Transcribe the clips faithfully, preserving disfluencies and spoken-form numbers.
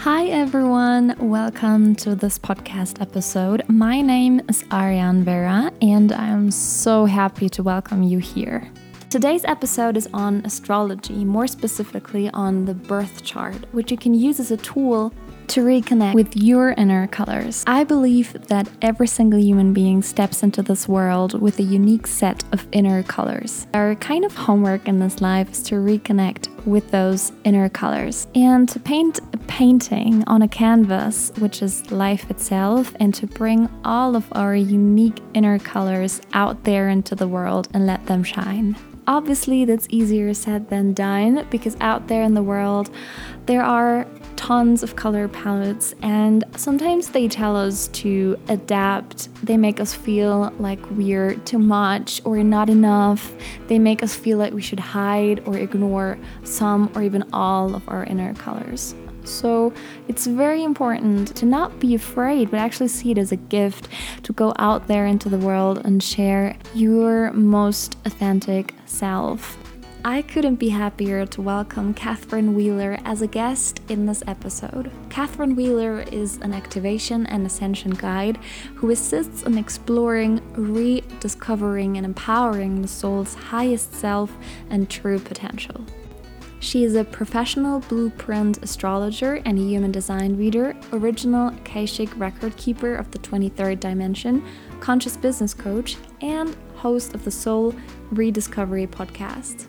Hi everyone, welcome to this podcast episode. My name is Ariane Vera and I am so happy to welcome you here. Today's episode is on astrology, more specifically on the birth chart, which you can use as a tool to reconnect with your inner colors. I believe that every single human being steps into this world with a unique set of inner colors. Our kind of homework in this life is to reconnect with those inner colors and to paint a painting on a canvas, which is life itself, and to bring all of our unique inner colors out there into the world and let them shine. Obviously, that's easier said than done because out there in the world, there are tons of color palettes and sometimes they tell us to adapt. They make us feel like we're too much or not enough. They make us feel like we should hide or ignore some or even all of our inner colors. So it's very important to not be afraid, but actually see it as a gift to go out there into the world and share your most authentic self. I couldn't be happier to welcome Catherine Wheeler as a guest in this episode. Catherine Wheeler is an activation and ascension guide who assists in exploring, rediscovering, and empowering the soul's highest self and true potential. She is a professional blueprint astrologer and a human design reader, original Akashic record keeper of the twenty-third dimension, conscious business coach, and host of the Soul Rediscovery podcast.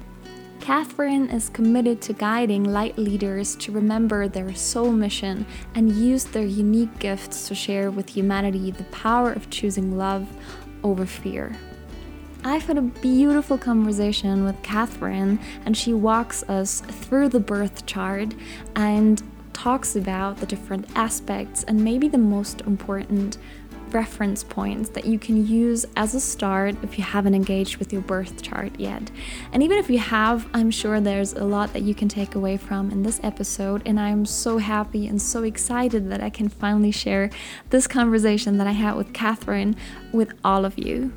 Catherine is committed to guiding light leaders to remember their soul mission and use their unique gifts to share with humanity the power of choosing love over fear. I've had a beautiful conversation with Catherine, and she walks us through the birth chart and talks about the different aspects and maybe the most important reference points that you can use as a start if you haven't engaged with your birth chart yet. And even if you have, I'm sure there's a lot that you can take away from in this episode, and I'm so happy and so excited that I can finally share this conversation that I had with Catherine with all of you.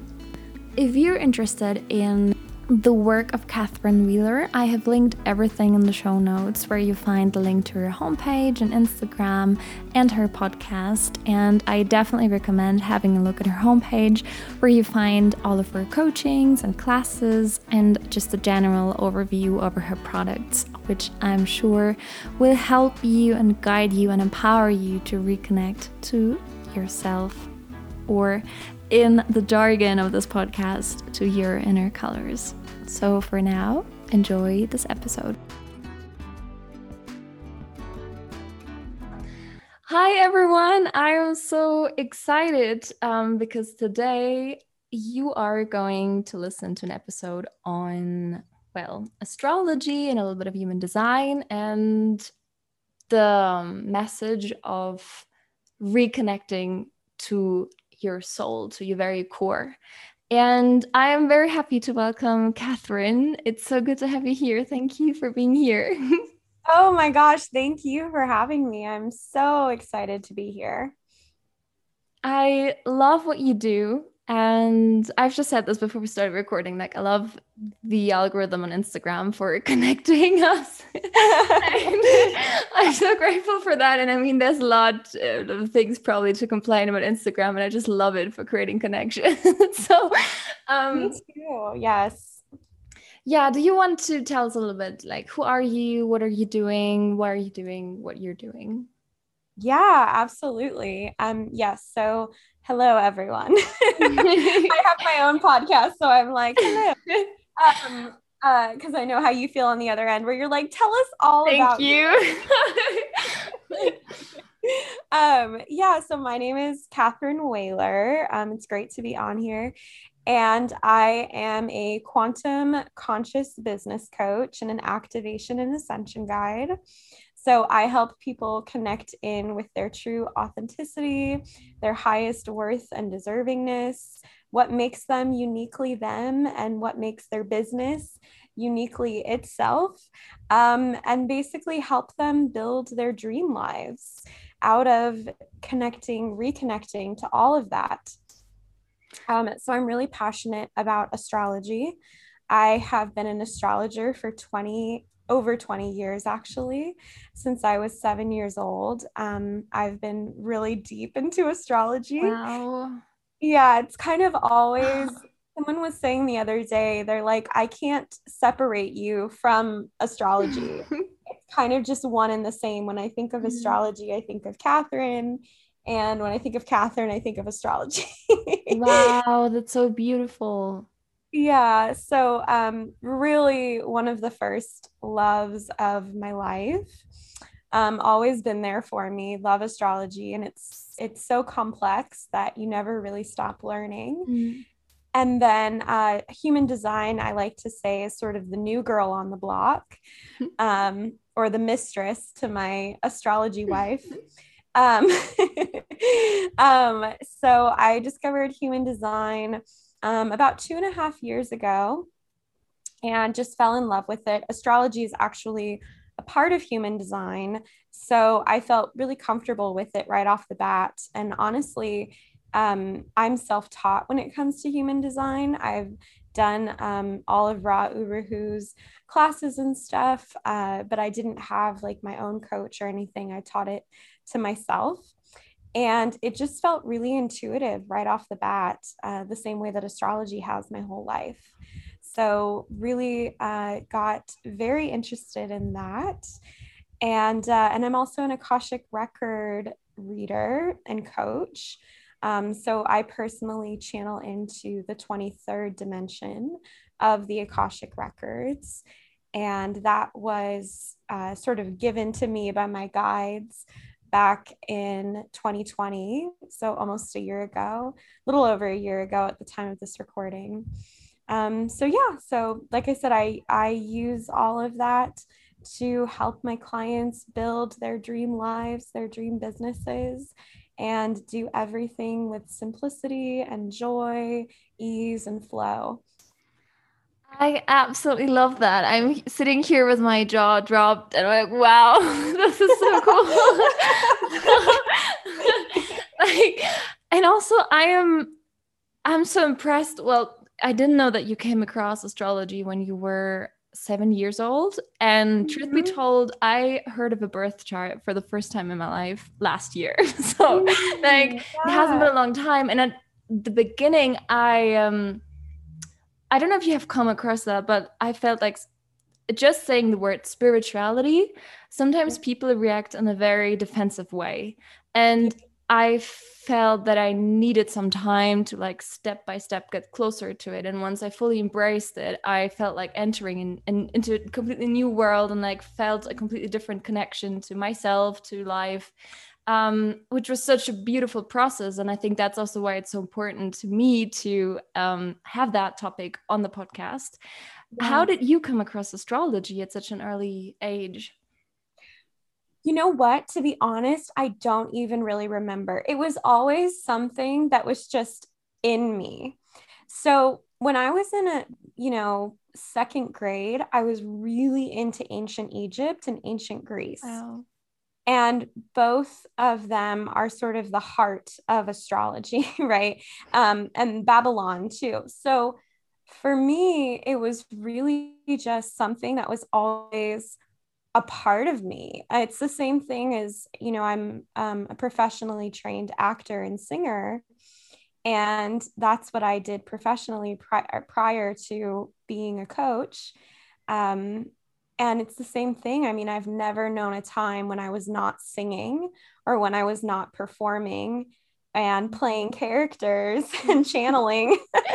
If you're interested in the work of Catherine Wheeler, I have linked everything in the show notes where you find the link to her homepage and Instagram and her podcast. And I definitely recommend having a look at her homepage where you find all of her coachings and classes and just a general overview over her products, which I'm sure will help you and guide you and empower you to reconnect to yourself, or in the jargon of this podcast, to your inner colors. So for now, enjoy this episode. Hi everyone, I am so excited um, because today you are going to listen to an episode on, well, astrology and a little bit of human design and the um, message of reconnecting to your soul, to your very core. And I am very happy to welcome Catherine. It's so good to have you here. Thank you for being here. Oh my gosh, thank you for having me. I'm so excited to be here. I love what you do. And I've just said this before we started recording, like I love the algorithm on Instagram for connecting us. I'm so grateful for that. And I mean, there's a lot of things probably to complain about Instagram, and I just love it for creating connection. so, um, Me too. Yes. Yeah. Do you want to tell us a little bit, like, who are you? What are you doing? Why are you doing what you're doing? Yeah, absolutely. Um, yes. So hello, everyone. I have my own podcast, so I'm like, hello. Um, uh, because I know how you feel on the other end, where you're like, tell us all Thank about you. you. um, yeah, so my name is Catherine Wheeler. Um, it's great to be on here. And I am a quantum conscious business coach and an activation and ascension guide. So I help people connect in with their true authenticity, their highest worth and deservingness, what makes them uniquely them, and what makes their business uniquely itself, um, and basically help them build their dream lives out of connecting, reconnecting to all of that. Um, so I'm really passionate about astrology. I have been an astrologer for twenty over twenty years actually. Since I was seven years old, um, I've been really deep into astrology. Wow. Yeah, it's kind of always, someone was saying the other day, they're like, I can't separate you from astrology. It's kind of just one and the same. When I think of astrology, I think of Catherine. And when I think of Catherine, I think of astrology. Wow, that's so beautiful. Yeah, so um, really one of the first loves of my life. Um, always been there for me. Love astrology, and it's it's so complex that you never really stop learning. Mm. And then uh, human design, I like to say, is sort of the new girl on the block, um, or the mistress to my astrology wife. Um, um, so I discovered human design um, about two and a half years ago and just fell in love with it. Astrology is actually a part of human design. So I felt really comfortable with it right off the bat. And honestly, um, I'm self taught when it comes to human design. I've done um, all of Ra Uru Hu's classes and stuff, uh, but I didn't have like my own coach or anything. I taught it to myself. And it just felt really intuitive right off the bat, uh, the same way that astrology has my whole life. So, really uh, got very interested in that. And, uh, and I'm also an Akashic record reader and coach. Um, so, I personally channel into the twenty-third dimension of the Akashic records. And that was uh, sort of given to me by my guides back in twenty twenty, so almost a year ago, a little over a year ago at the time of this recording. Um, so yeah, so like I said, I I use all of that to help my clients build their dream lives, their dream businesses, and do everything with simplicity and joy, ease, and flow. I absolutely love that. I'm sitting here with my jaw dropped and I'm like, wow, this is so cool. Like, and also I am I'm so impressed. Well, I didn't know that you came across astrology when you were seven years old. And truth be Mhm. told, I heard of a birth chart for the first time in my life last year. So like Mm, it hasn't yeah. been a long time. And at the beginning, I um I don't know if you have come across that, but I felt like just saying the word spirituality, sometimes people react in a very defensive way. And I felt that I needed some time to like step by step get closer to it. And once I fully embraced it, I felt like entering in, in, into a completely new world and like felt a completely different connection to myself, to life, um, which was such a beautiful process. And I think that's also why it's so important to me to um, have that topic on the podcast. How Yeah. did you come across astrology at such an early age? You know what? To be honest, I don't even really remember. It was always something that was just in me. So when I was in a, you know, second grade, I was really into ancient Egypt and ancient Greece. Wow. And both of them are sort of the heart of astrology, right? Um, and Babylon too. So for me, it was really just something that was always a part of me. It's the same thing as, you know, I'm um, a professionally trained actor and singer. And that's what I did professionally pri- prior to being a coach. Um, and it's the same thing. I mean, I've never known a time when I was not singing or when I was not performing and playing characters and channeling.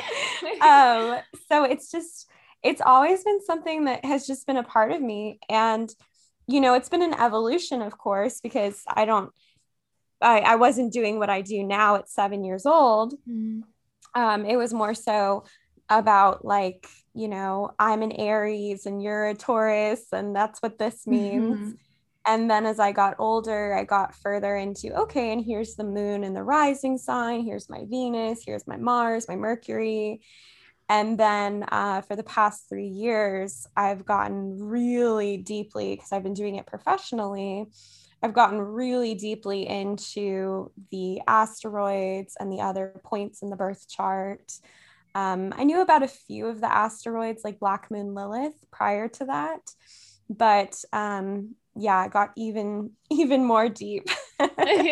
um, so it's just, it's always been something that has just been a part of me. And, you know, it's been an evolution, of course, because I don't, I, I wasn't doing what I do now at seven years old. Mm. Um, it was more so about like, you know, I'm an Aries and you're a Taurus, and that's what this means. Mm-hmm. And then as I got older, I got further into, okay, and here's the moon and the rising sign. Here's my Venus. Here's my Mars, my Mercury. And then uh, for the past three years, I've gotten really deeply, because I've been doing it professionally, I've gotten really deeply into the asteroids and the other points in the birth chart. Um, I knew about a few of the asteroids, like Black Moon Lilith, prior to that, but um, yeah, it got even even more deep. um,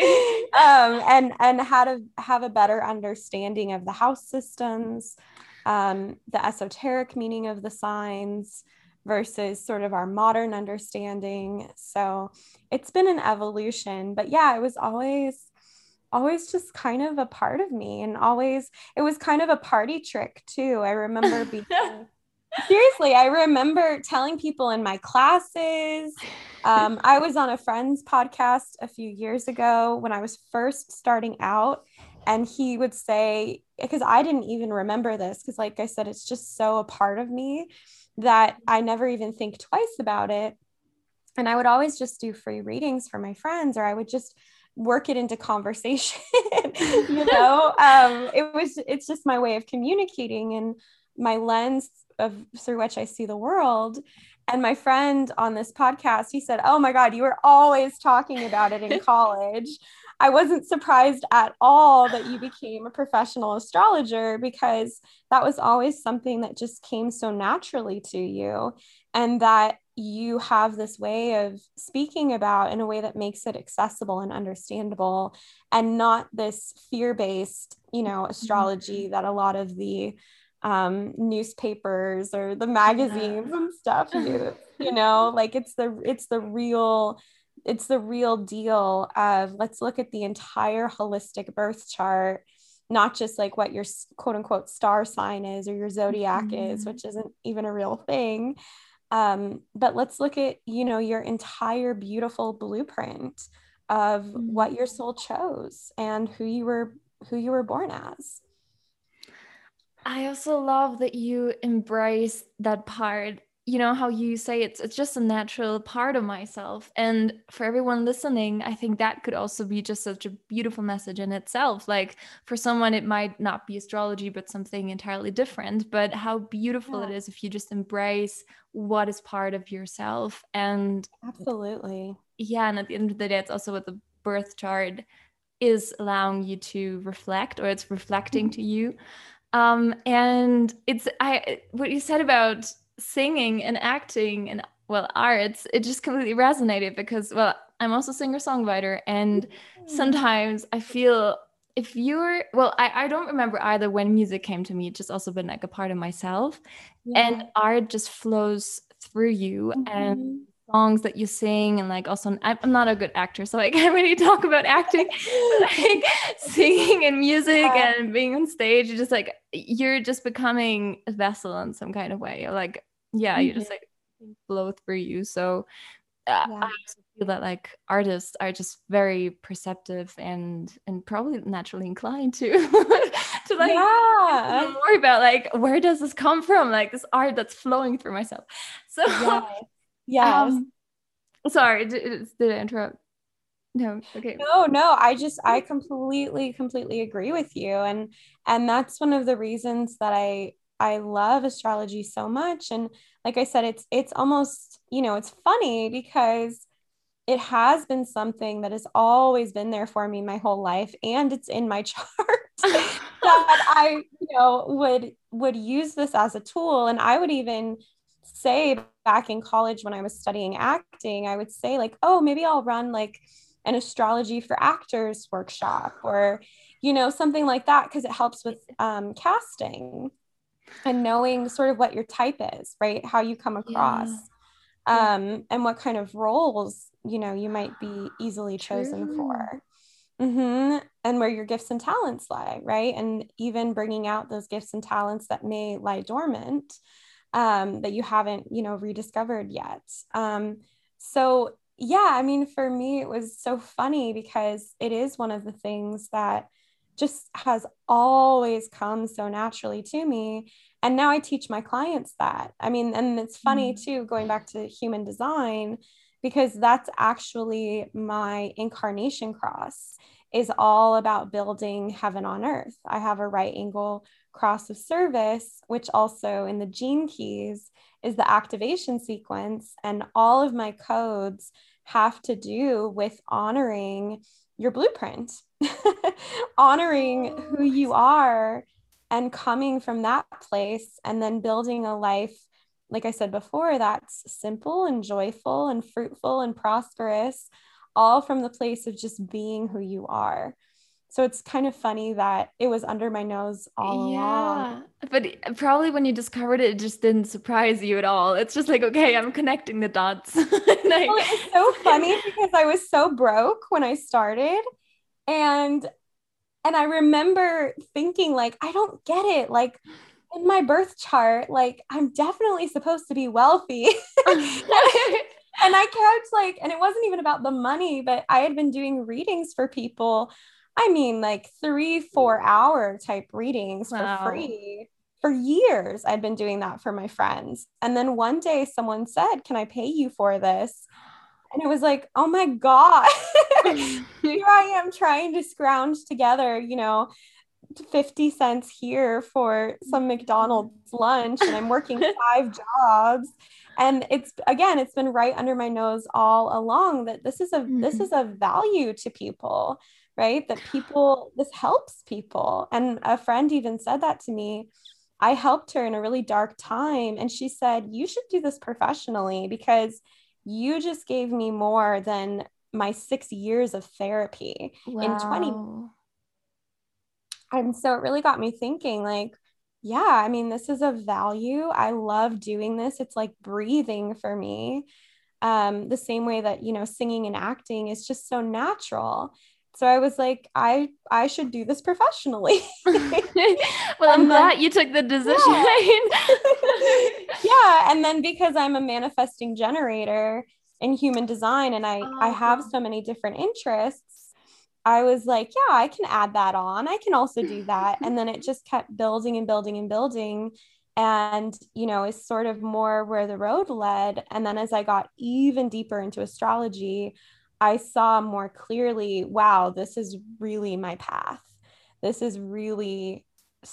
and and how to have a better understanding of the house systems, um, the esoteric meaning of the signs versus sort of our modern understanding. So it's been an evolution, but yeah, it was always always just kind of a part of me, and always it was kind of a party trick too. I remember being seriously, I remember telling people in my classes. Um, I was on a friend's podcast a few years ago when I was first starting out, and he would say, because I didn't even remember this, because like I said, it's just so a part of me that I never even think twice about it. And I would always just do free readings for my friends, or I would just work it into conversation. you know, um, it was, it's just my way of communicating and my lens of through which I see the world. And my friend on this podcast, he said, "Oh my God, you were always talking about it in college." I wasn't surprised at all that you became a professional astrologer, because that was always something that just came so naturally to you, and that you have this way of speaking about in a way that makes it accessible and understandable, and not this fear-based, you know, astrology that a lot of the um, newspapers or the magazines yeah. and stuff use, you know, like it's the, it's the real, it's the real deal of, let's look at the entire holistic birth chart, not just like what your quote unquote star sign is or your zodiac mm-hmm. is, which isn't even a real thing. Um, but let's look at, you know, your entire beautiful blueprint of mm-hmm. what your soul chose and who you were, who you were born as. I also love that you embrace that part. You know how you say it's it's just a natural part of myself. And for everyone listening, I think that could also be just such a beautiful message in itself. Like for someone, it might not be astrology, but something entirely different. But how beautiful yeah. it is if you just embrace what is part of yourself. And absolutely. Yeah. And at the end of the day, it's also what the birth chart is allowing you to reflect, or it's reflecting to you. Um, and it's I what you said about singing and acting and well arts, it just completely resonated, because well I'm also a singer-songwriter, and sometimes I feel if you're well I, I don't remember either when music came to me. It's just also been like a part of myself yeah. and art just flows through you mm-hmm. and songs that you sing, and like also I'm not a good actor, so I can't really talk about acting, but like singing and music yeah. and being on stage, you're just like you're just becoming a vessel in some kind of way. Or like yeah, mm-hmm. you just like flow through you. So uh, yeah. I also feel that like artists are just very perceptive and and probably naturally inclined to to like yeah. know more about like where does this come from, like this art that's flowing through myself. So yeah. Yes. Um, sorry, did, did I interrupt? No, okay. No, no, I just, I completely, completely agree with you. And, and that's one of the reasons that I, I love astrology so much. And like I said, it's, it's almost, you know, it's funny because it has been something that has always been there for me my whole life. And it's in my chart that I, you know, would, would use this as a tool. And I would even say back in college when I was studying acting, I would say like, oh, maybe I'll run like an astrology for actors workshop, or, you know, something like that. Cause it helps with um, casting and knowing sort of what your type is, right? How you come across yeah. um, yeah. and what kind of roles, you know, you might be easily chosen True. For. Mm-hmm. And where your gifts and talents lie, right? And even bringing out those gifts and talents that may lie dormant, um, that you haven't, you know, rediscovered yet. Um, so yeah, I mean, for me, it was so funny because it is one of the things that just has always come so naturally to me. And now I teach my clients that. I mean, and it's funny mm. too, going back to human design, because that's actually my incarnation cross, is all about building heaven on earth. I have a right angle cross of service, which also in the gene keys is the activation sequence. And all of my codes have to do with honoring your blueprint, honoring who you are and coming from that place, and then building a life like I said before, that's simple and joyful and fruitful and prosperous, all from the place of just being who you are. So it's kind of funny that it was under my nose all along. Yeah, but probably when you discovered it, it just didn't surprise you at all. It's just like, okay, I'm connecting the dots. Like, well, it was so funny because I was so broke when I started, and and I remember thinking like, I don't get it. Like in my birth chart, like I'm definitely supposed to be wealthy. And I kept like, and it wasn't even about the money, but I had been doing readings for people. I mean, like three, four hour type readings Wow. for free for years. I'd been doing that for my friends. And then one day someone said, can I pay you for this? And it was like, oh my God, here I am trying to scrounge together, you know, fifty cents here for some McDonald's lunch, and I'm working five jobs. And it's, again, it's been right under my nose all along that this is a, mm-hmm. this is a value to people, right? That people, this helps people. And a friend even said that to me. I helped her in a really dark time. And she said, you should do this professionally because you just gave me more than my six years of therapy wow. in twenty. And so it really got me thinking like, yeah, I mean, this is a value. I love doing this. It's like breathing for me. Um, the same way that, you know, singing and acting is just so natural. So I was like, I, I should do this professionally. Well, I'm glad you took the decision. Yeah. Yeah. And then because I'm a manifesting generator in human design and I, oh. I have so many different interests, I was like, yeah, I can add that on. I can also do that. And then it just kept building and building and building. And, you know, is sort of more where the road led. And then as I got even deeper into astrology, I saw more clearly, wow, this is really my path. This is really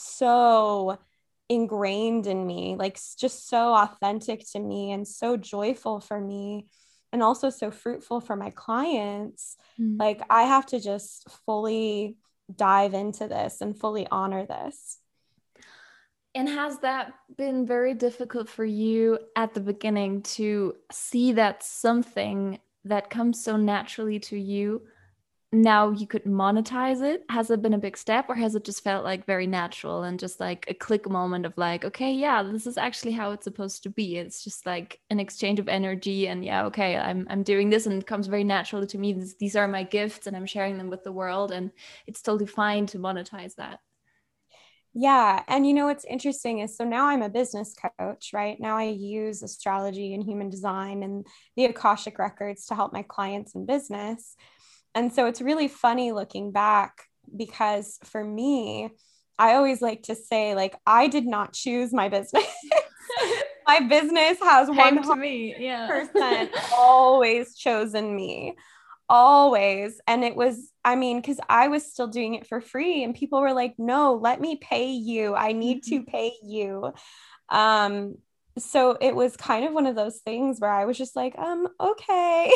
so ingrained in me, like just so authentic to me and so joyful for me. And also so fruitful for my clients. Mm. Like I have to just fully dive into this and fully honor this. And has that been very difficult for you at the beginning to see that something that comes so naturally to you, now you could monetize it? Has it been a big step, or has it just felt like very natural and just like a click moment of like, okay, yeah, this is actually how it's supposed to be. It's just like an exchange of energy, and yeah, okay, I'm I'm doing this and it comes very naturally to me. This, these are my gifts and I'm sharing them with the world, and it's totally fine to monetize that. Yeah. And you know, what's interesting is, so now I'm a business coach, right? Now I use astrology and human design and the Akashic records to help my clients in business. And so it's really funny looking back, because for me, I always like to say, like, I did not choose my business. My business has one hundred percent always chosen me, always. And it was, I mean, because I was still doing it for free and people were like, no, let me pay you. I need mm-hmm. to pay you. Um, so it was kind of one of those things where I was just like, um, okay.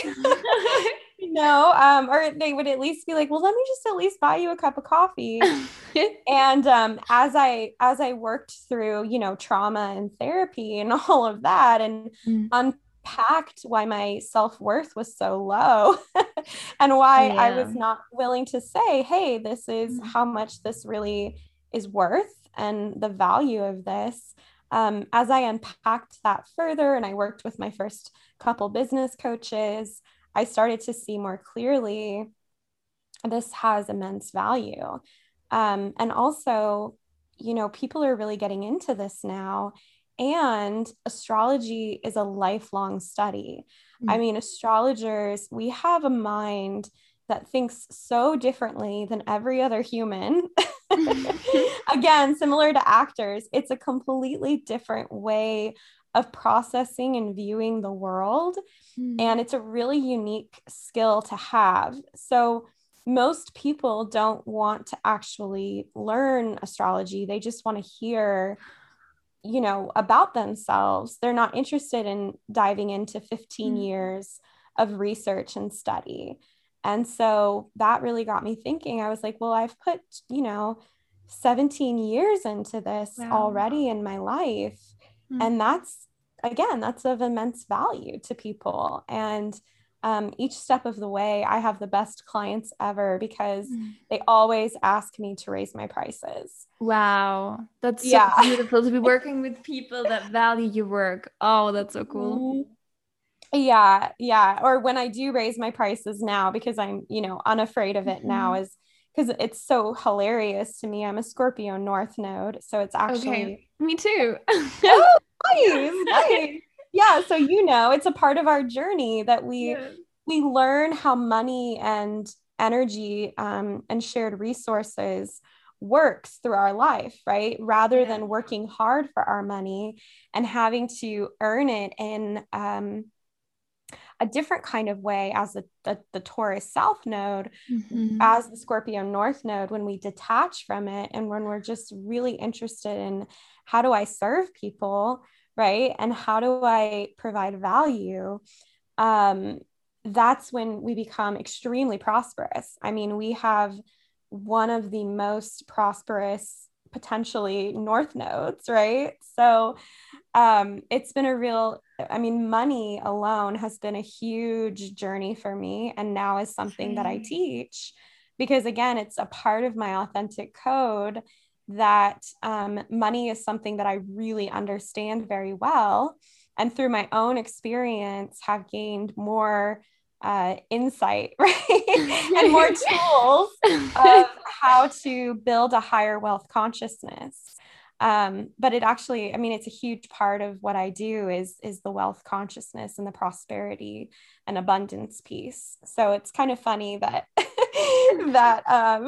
You know, um, or they would at least be like, well, let me just at least buy you a cup of coffee. And um, as I as I worked through, you know, trauma and therapy and all of that, and mm. unpacked why my self-worth was so low and why yeah. I was not willing to say, hey, this is mm. how much this really is worth and the value of this. Um, as I unpacked that further and I worked with my first couple business coaches, I started to see more clearly this has immense value. Um, and also, you know, people are really getting into this now. And astrology is a lifelong study. Mm-hmm. I mean, astrologers, we have a mind that thinks so differently than every other human. Again, similar to actors, it's a completely different way of processing and viewing the world. Mm. And it's a really unique skill to have. So most people don't want to actually learn astrology. They just want to hear, you know, about themselves. They're not interested in diving into fifteen mm. years of research and study. And so that really got me thinking. I was like, well, I've put, you know, seventeen years into this wow. already in my life. And that's again, that's of immense value to people. And um, each step of the way, I have the best clients ever because Mm. they always ask me to raise my prices. Wow. That's so Yeah. beautiful to be working with people that value your work. Oh, that's so cool. Mhm. Yeah, yeah. Or when I do raise my prices now, because I'm, you know, unafraid of it now, Mhm. is because it's so hilarious to me. I'm a Scorpio North node. So it's Okay. actually, Me too. oh, Yeah. nice, nice. Yeah. So, you know, it's a part of our journey that we Yeah. we learn how money and energy um, and shared resources works through our life, right? Rather Yeah. than working hard for our money and having to earn it in um, a different kind of way as the, the, the Taurus South node, Mhm. as the Scorpio North node, when we detach from it and when we're just really interested in how do I serve people, right? And how do I provide value? Um, that's when we become extremely prosperous. I mean, we have one of the most prosperous, potentially North nodes, right? So um, it's been a real, I mean, money alone has been a huge journey for me. And now is something that I Same. teach because, again, it's a part of my authentic code that um, money is something that I really understand very well. And through my own experience, have gained more uh, insight, right? And more tools of how to build a higher wealth consciousness. Um, but it actually, I mean, it's a huge part of what I do is is the wealth consciousness and the prosperity and abundance piece. So it's kind of funny that that um,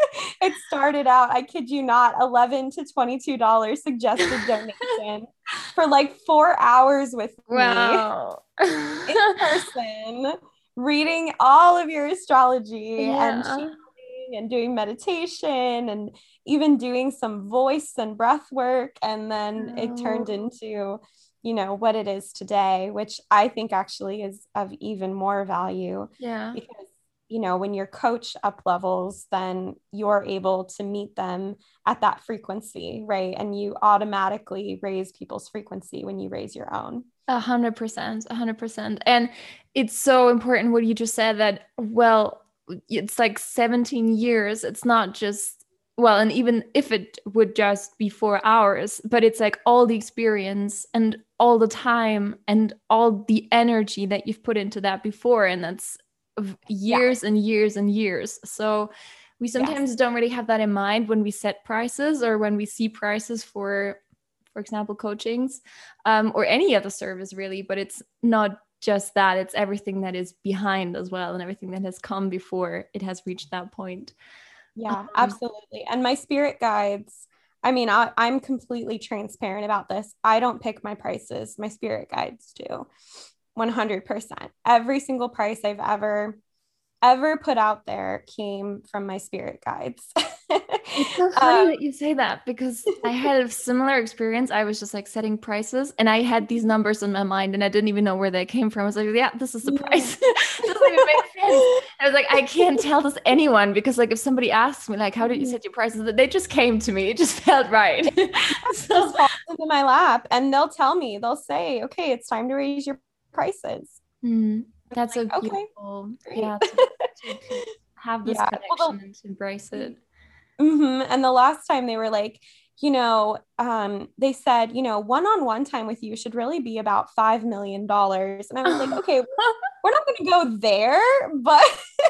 it started out, I kid you not, eleven to twenty-two dollars suggested donation for like four hours with me Wow. in person, reading all of your astrology and Yeah. channeling and doing meditation and even doing some voice and breath work. And then it turned Oh, into, you know, what it is today, which I think actually is of even more value yeah. because, you know, when your coach up levels, then you're able to meet them at that frequency, right? And you automatically raise people's frequency when you raise your own. A hundred percent, a hundred percent. And it's so important what you just said that, well, it's like seventeen years. It's not just, well, and even if it would just be four hours, but it's like all the experience and all the time and all the energy that you've put into that before. And that's of Yeah. years and years and years. So we Yes. sometimes don't really have that in mind when we set prices or when we see prices for, for example, coachings um, or any other service really, but it's not just that, it's everything that is behind as well and everything that has come before it has reached that point. Yeah, Um, absolutely. And my spirit guides, I mean, I, I'm completely transparent about this. I don't pick my prices, my spirit guides do one hundred percent. Every single price I've ever, ever put out there came from my spirit guides. It's so funny um, that you say that because I had a similar experience. I was just like setting prices and I had these numbers in my mind and I didn't even know where they came from. I was like, yeah, this is the price. Doesn't even make sense. I was like, I can't tell this anyone because like if somebody asks me like, how did you set your prices? They just came to me. It just felt right. So just falls into my lap and they'll tell me, they'll say, okay, it's time to raise your prices. mm, that's so Like, okay, beautiful. great. Yeah, to, to, to have this Yeah. Well, connection and to embrace the it. hmm And the last time they were like, you know, um, they said, you know, one-on-one time with you should really be about five million dollars. And I was like, okay, we're not going to go there, but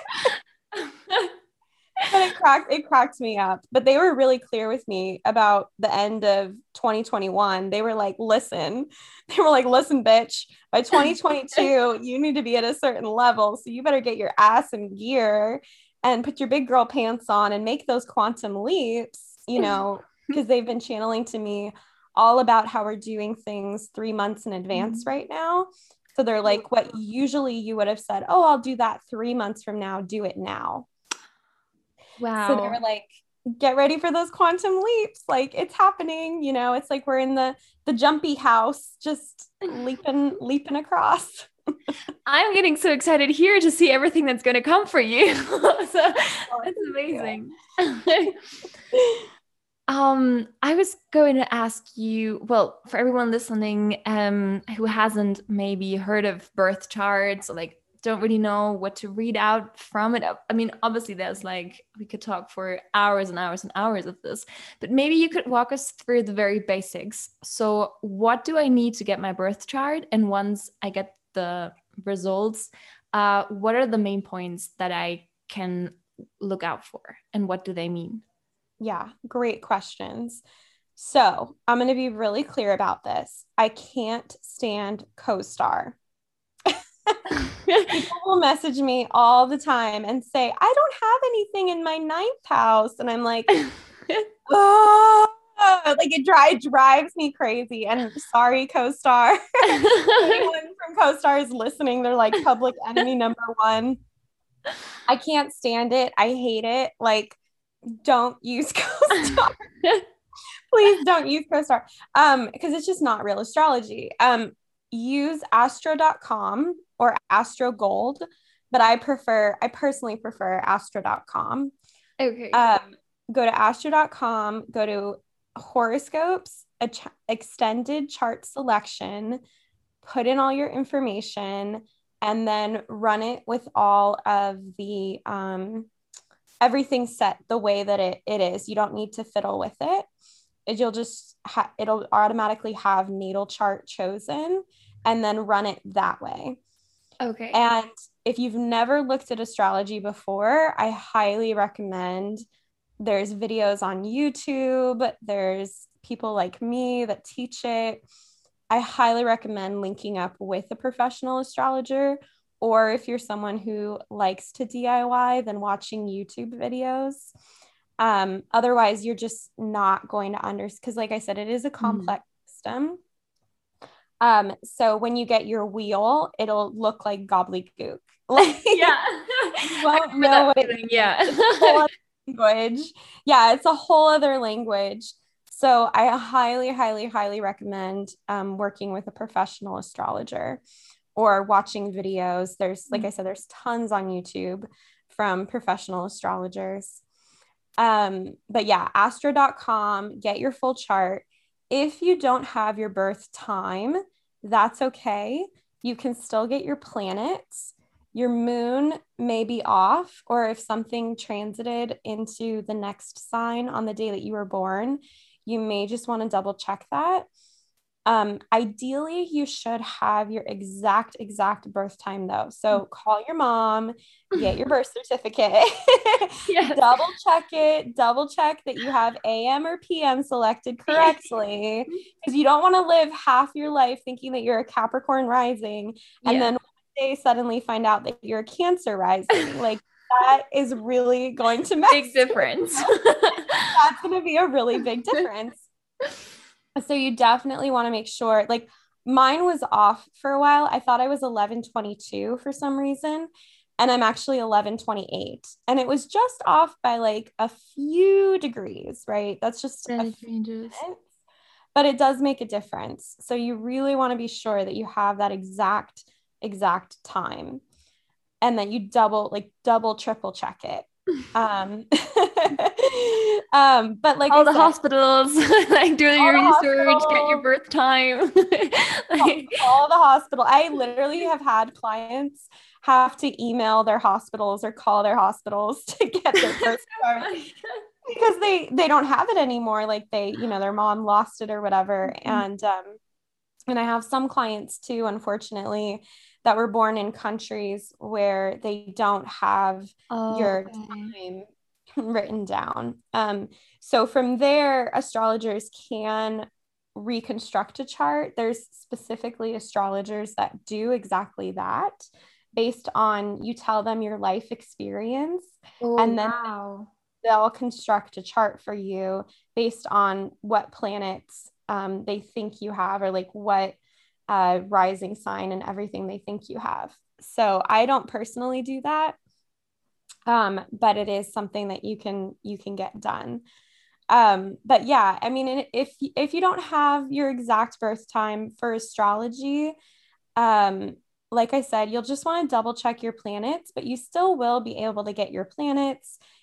but it cracked it cracked me up. But they were really clear with me about the end of twenty twenty-one. They were like, listen, they were like, listen, bitch, by twenty twenty-two, you need to be at a certain level. So you better get your ass in gear and put your big girl pants on and make those quantum leaps, you know, because they've been channeling to me all about how we're doing things three months in advance right now. So they're like, what usually you would have said, oh, I'll do that three months from now, do it now. So they were Wow. like, get ready for those quantum leaps. Like it's happening, you know, it's like we're in the the jumpy house, just leaping, leaping across. I'm getting so excited here to see everything that's going to come for you. So Oh, that's thank amazing. you. Um, I was going to ask you, well, for everyone listening, um, who hasn't maybe heard of birth charts or like don't really know what to read out from it. I mean, obviously there's like we could talk for hours and hours and hours of this, but maybe you could walk us through the very basics. So, what do I need to get my birth chart? And once I get the results, uh, what are the main points that I can look out for, and what do they mean? Yeah, great questions. So I'm going to be really clear about this. I can't stand CoStar. People will message me all the time and say, I don't have anything in my ninth house. And I'm like, oh, like it, dry, it drives me crazy. And sorry, CoStar. Anyone from CoStar is listening. They're like public enemy number one. I can't stand it. I hate it. Like, don't use CoStar. Please don't use CoStar. Um, because it's just not real astrology. Um, use astro dot com or Astro Gold, but I prefer, I personally prefer astro dot com. Okay. Um, go to astro dot com, go to horoscopes, a ch- extended chart selection, put in all your information, and then run it with all of the um, everything set the way that it, it is. You don't need to fiddle with it. You'll just ha- it'll automatically have natal chart chosen and then run it that way. Okay. And if you've never looked at astrology before, I highly recommend. There's videos on YouTube. There's people like me that teach it. I highly recommend linking up with a professional astrologer, or if you're someone who likes to D I Y, then watching YouTube videos. Um, otherwise, you're just not going to understand, because like I said, it is a complex mm. system. Um, so when you get your wheel, it'll look like gobbledygook. Like, yeah, you won't know what it is. Yeah, it's a whole other language. Yeah, it's a whole other language. So I highly, highly, highly recommend um, working with a professional astrologer or watching videos. There's, like I said, there's tons on YouTube from professional astrologers. Um, but yeah, astro dot com, get your full chart. If you don't have your birth time, that's okay. You can still get your planets. Your moon may be off, or if something transited into the next sign on the day that you were born, you may just want to double check that. Um, ideally, you should have your exact, exact birth time though. So call your mom, get your birth certificate, yes. double check it, double check that you have A M or P M selected correctly, because you don't want to live half your life thinking that you're a Capricorn rising and yeah. then one day suddenly find out that you're a Cancer rising. Like that is really going to make big difference. That's going to be a really big difference. So you definitely want to make sure, like mine was off for a while. I thought I was eleven twenty-two for some reason, and I'm actually eleven twenty-eight. And it was just off by like a few degrees, right? That's just a changes. But it does make a difference. So you really want to be sure that you have that exact, exact time. And then you double, like double, triple check it. Um, um, but like all I the said, hospitals, like do your research, get your birth time. Like, all the hospital. I literally have had clients have to email their hospitals or call their hospitals to get their birth card because they they don't have it anymore. Like they, you know, their mom lost it or whatever. Mm-hmm. And um, and I have some clients too, unfortunately, that were born in countries where they don't have oh, your okay. time written down. Um, so from there, astrologers can reconstruct a chart. There's specifically astrologers that do exactly that based on, you tell them your life experience, oh, and then wow. they'll construct a chart for you based on what planets um, they think you have, or like what uh, rising sign and everything they think you have. So I don't personally do that, um, but it is something that you can you can get done. Um, but yeah, I mean, if if you don't have your exact birth time for astrology, um, like I said, you'll just want to double check your planets, but you still will be able to get your planets,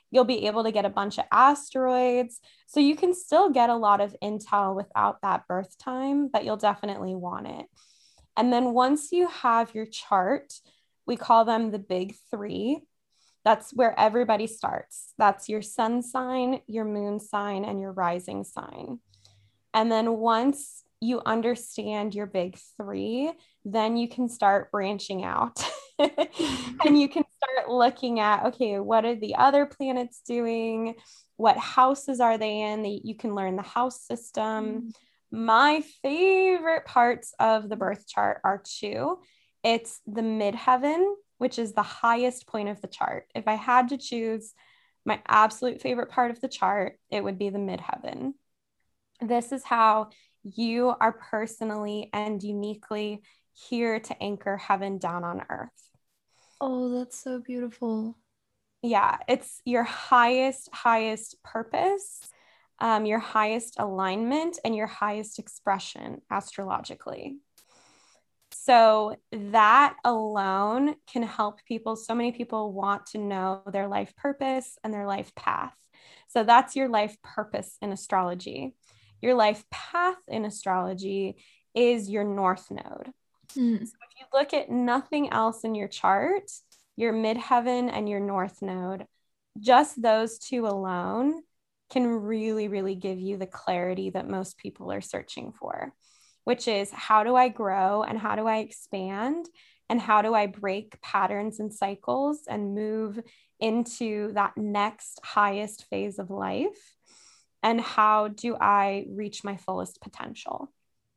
You'll be able to get a bunch of asteroids. So you can still get a lot of intel without that birth time, but you'll definitely want it. And then once you have your chart, we call them the big three. That's where everybody starts. That's your sun sign, your moon sign, and your rising sign. And then once you understand your big three, then you can start branching out. And you can start looking at, okay, what are the other planets doing? What houses are they in? You can learn the house system. My favorite parts of the birth chart are two. It's the midheaven, which is the highest point of the chart. If I had to choose my absolute favorite part of the chart, it would be the midheaven. This is how you are personally and uniquely here to anchor heaven down on earth. Oh, that's so beautiful. Yeah, it's your highest, highest purpose, um, your highest alignment, and your highest expression astrologically. So that alone can help people. So many people want to know their life purpose and their life path. So that's your life purpose in astrology. Your life path in astrology is your north node. Mm. So if you look at nothing else in your chart, your midheaven and your north node, just those two alone can really, really give you the clarity that most people are searching for, which is how do I grow and how do I expand and how do I break patterns and cycles and move into that next highest phase of life? And how do I reach my fullest potential?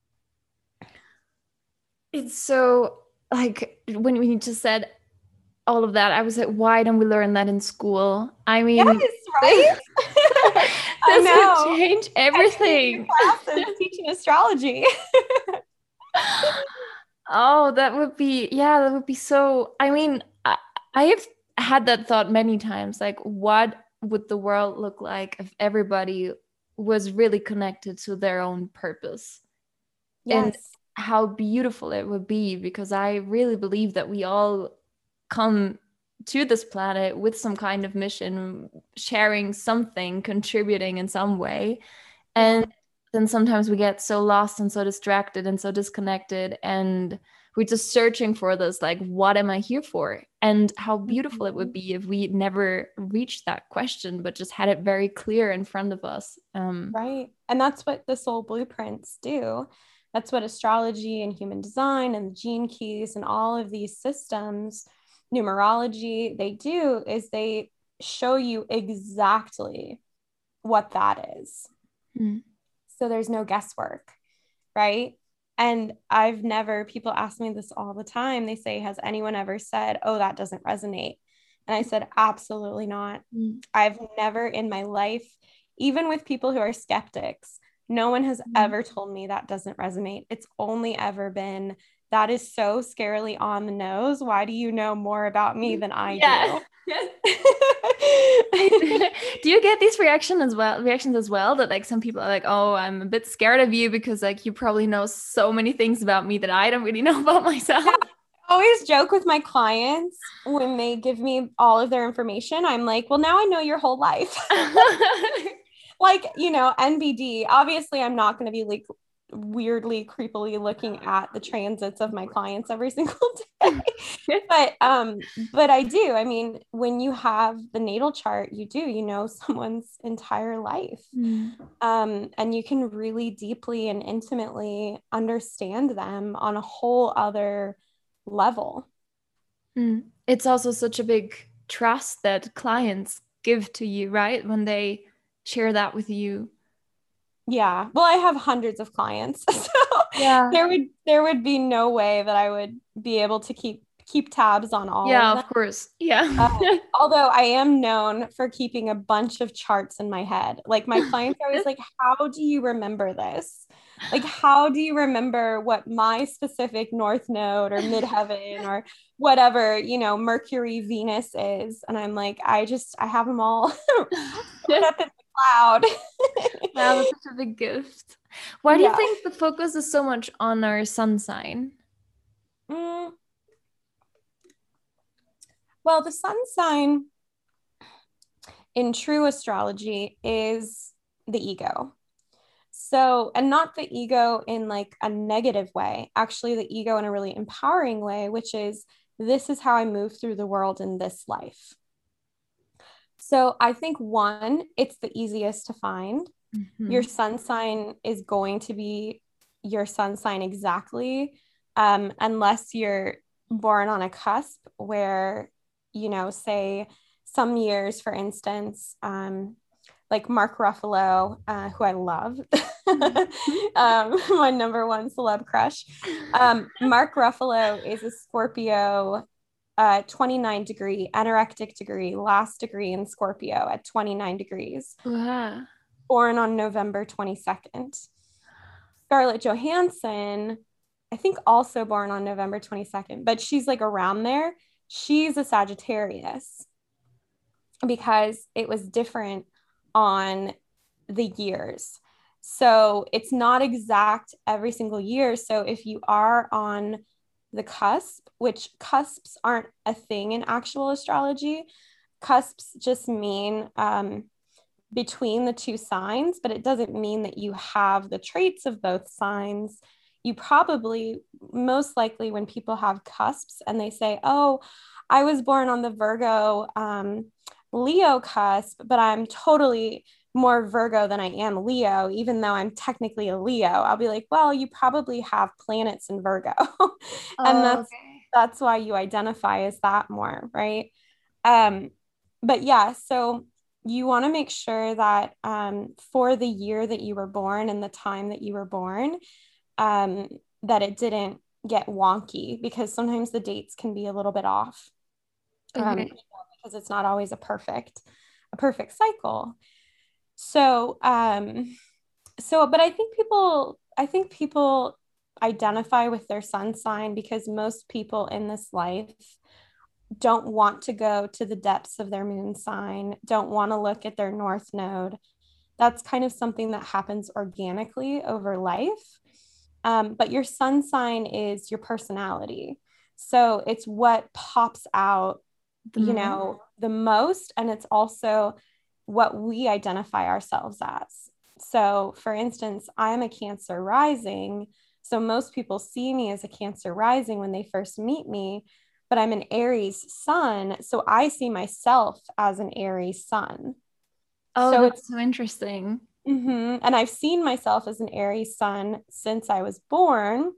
It's so like when we just said all of that, I was like, why don't we learn that in school? I mean, yes, right? This would change everything. Classes teaching astrology. Oh, that would be, yeah, that would be so, I mean, I, I have had that thought many times, like what would the world look like if everybody was really connected to their own purpose? Yes. And how beautiful it would be, because I really believe that we all come to this planet with some kind of mission, sharing something, contributing in some way. And yeah. Then sometimes we get so lost and so distracted and so disconnected, and we're just searching for this, like, what am I here for? And how beautiful mm-hmm. it would be if we never reached that question, but just had it very clear in front of us. Um, right. And that's what the soul blueprints do. That's what astrology and human design and the gene keys and all of these systems, numerology, they do is they show you exactly what that is. Mm. So there's no guesswork, right? And I've never, people ask me this all the time. They say, has anyone ever said, oh, that doesn't resonate? And I said, absolutely not. Mm. I've never in my life, even with people who are skeptics, no one has mm. ever told me that doesn't resonate. It's only ever been, that is so scarily on the nose. Why do you know more about me than I yeah. do? Do you get these reactions as well reactions as well that like some people are like, oh, I'm a bit scared of you because like you probably know so many things about me that I don't really know about myself? Yeah. I always joke with my clients when they give me all of their information. I'm like, well, now I know your whole life. Like, you know, N B D, obviously I'm not going to be like weirdly creepily looking at the transits of my clients every single day. but um but I do. I mean, when you have the natal chart, you do, you know, someone's entire life. Mm. Um and you can really deeply and intimately understand them on a whole other level. Mm. It's also such a big trust that clients give to you, right? When they share that with you. Yeah. Well, I have hundreds of clients. So yeah. there would there would be no way that I would be able to keep keep tabs on all yeah, of them. Of course. Yeah. uh, although I am known for keeping a bunch of charts in my head. Like my clients are always like, how do you remember this? Like, how do you remember what my specific north node or midheaven or whatever, you know, Mercury, Venus is? And I'm like, I just, I have them all up in the cloud. Wow, that's such a big gift. Why do yeah. you think the focus is so much on our sun sign? Mm. Well, the sun sign in true astrology is the ego. So, and not the ego in like a negative way, actually, the ego in a really empowering way, which is this is how I move through the world in this life. So, I think one, it's the easiest to find. Mm-hmm. Your sun sign is going to be your sun sign exactly, um, unless you're born on a cusp where, you know, say some years, for instance, um, like Mark Ruffalo, uh, who I love, um, my number one celeb crush. Um, Mark Ruffalo is a Scorpio, uh, twenty-nine degree, anorectic degree, last degree in Scorpio at twenty-nine degrees. Wow. Born on November twenty-second. Scarlett Johansson, I think also born on November twenty-second, but she's like around there. She's a Sagittarius because it was different on the years. So it's not exact every single year. So if you are on the cusp, which cusps aren't a thing in actual astrology, cusps just mean um, between the two signs, but it doesn't mean that you have the traits of both signs. You probably, most likely, when people have cusps and they say, oh, I was born on the Virgo um, Leo cusp, but I'm totally more Virgo than I am Leo, even though I'm technically a Leo, I'll be like, well, you probably have planets in Virgo. and oh, that's okay. that's why you identify as that more, right? Um, but yeah, so you want to make sure that um, for the year that you were born and the time that you were born, um, that it didn't get wonky, because sometimes the dates can be a little bit off. Okay. Um, because it's not always a perfect, a perfect cycle. So, um, so, but I think people, I think people identify with their sun sign because most people in this life don't want to go to the depths of their moon sign, don't want to look at their north node. That's kind of something that happens organically over life. Um, but your sun sign is your personality. So it's what pops out, the you know, the most. And it's also what we identify ourselves as. So for instance, I'm a Cancer rising. So most people see me as a Cancer rising when they first meet me, but I'm an Aries sun. So I see myself as an Aries sun. Oh, so that's it's so interesting. Mm-hmm. And I've seen myself as an Aries sun since I was born,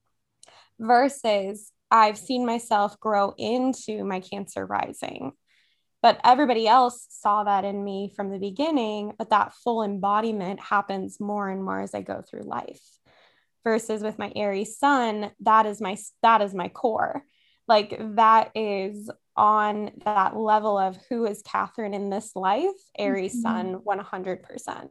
versus I've seen myself grow into my Cancer rising. But everybody else saw that in me from the beginning, but that full embodiment happens more and more as I go through life. Versus with my Aries sun, that is my that is my core. Like that is on that level of who is Catherine in this life, Aries mm-hmm. sun, one hundred percent.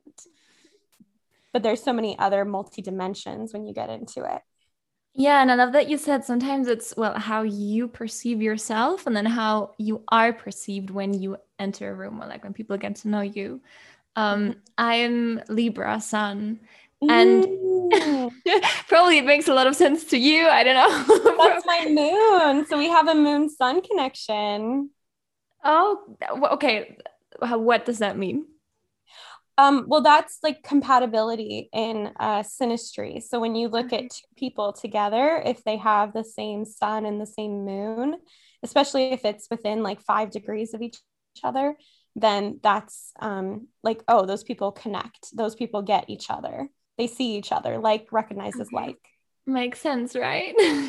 But there's so many other multi-dimensions when you get into it. Yeah, and I love that you said sometimes it's, well, how you perceive yourself and then how you are perceived when you enter a room, or like when people get to know you. Um, mm-hmm. I'm Libra sun, and mm. probably it makes a lot of sense to you. I don't know. That's my moon. So we have a moon sun connection. Oh, okay. What does that mean? Um, well, that's like compatibility in uh, synastry. So when you look at two people together, if they have the same sun and the same moon, especially if it's within like five degrees of each other, then that's um, like, oh, those people connect. Those people get each other. They see each other, like recognizes okay. like. Makes sense, right?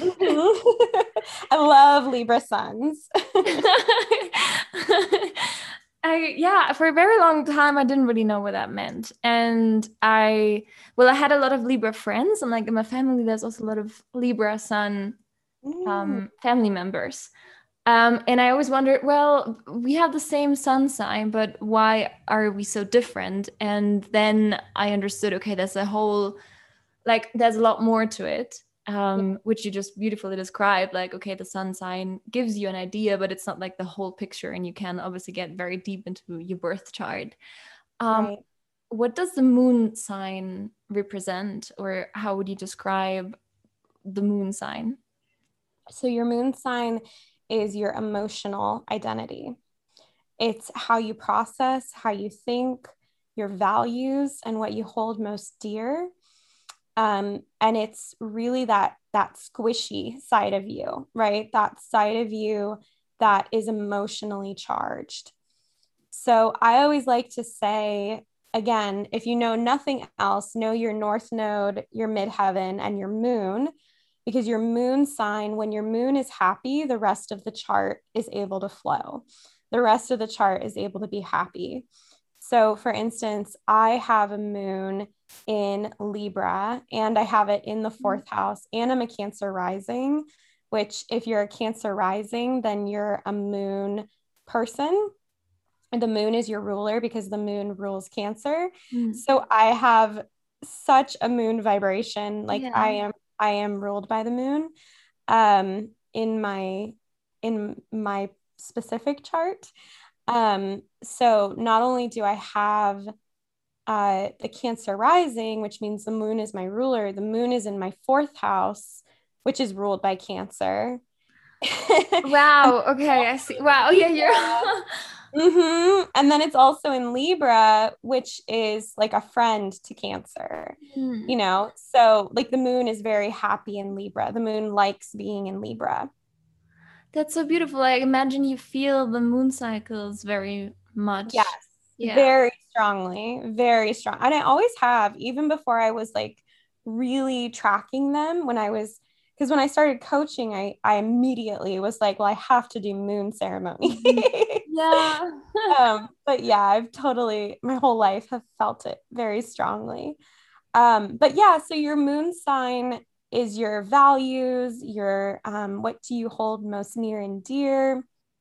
I love Libra suns. I, yeah, for a very long time, I didn't really know what that meant. And I, well, I had a lot of Libra friends, and like in my family, there's also a lot of Libra sun um, family members. Um, and I always wondered, well, we have the same sun sign, but why are we so different? And then I understood, okay, there's a whole, like, there's a lot more to it. Um, yeah. Which you just beautifully described, like, okay, the sun sign gives you an idea, but it's not like the whole picture, and you can obviously get very deep into your birth chart. Um, right. What does the moon sign represent, or how would you describe the moon sign? So your moon sign is your emotional identity. It's how you process, how you think, your values, and what you hold most dear. Um, and it's really that that squishy side of you, right? That side of you that is emotionally charged. So I always like to say, again, if you know nothing else, know your north node, your midheaven, and your moon, because your moon sign, when your moon is happy, the rest of the chart is able to flow. The rest of the chart is able to be happy. So, for instance, I have a moon in Libra and I have it in the fourth house, and I'm a Cancer rising, which, if you're a Cancer rising, then you're a moon person. And the moon is your ruler because the moon rules Cancer. Mm. So I have such a moon vibration. Like yeah. I am, I am ruled by the moon um, in my, in my specific chart. Um, so not only do I have uh, the Cancer rising, which means the moon is my ruler, the moon is in my fourth house, which is ruled by Cancer. Wow. Okay. I see. Wow. Yeah. You're. Mm-hmm. And then it's also in Libra, which is like a friend to Cancer, mm. you know? So like the moon is very happy in Libra. The moon likes being in Libra. That's so beautiful. I imagine you feel the moon cycles very much. Yes. Yeah. Very strongly, very strong. And I always have, even before I was like really tracking them when I was, because when I started coaching, I, I immediately was like, well, I have to do moon ceremony. Yeah. um, but yeah, I've totally, my whole life have felt it very strongly. Um, but yeah, so your moon sign is your values, your, um, what do you hold most near and dear?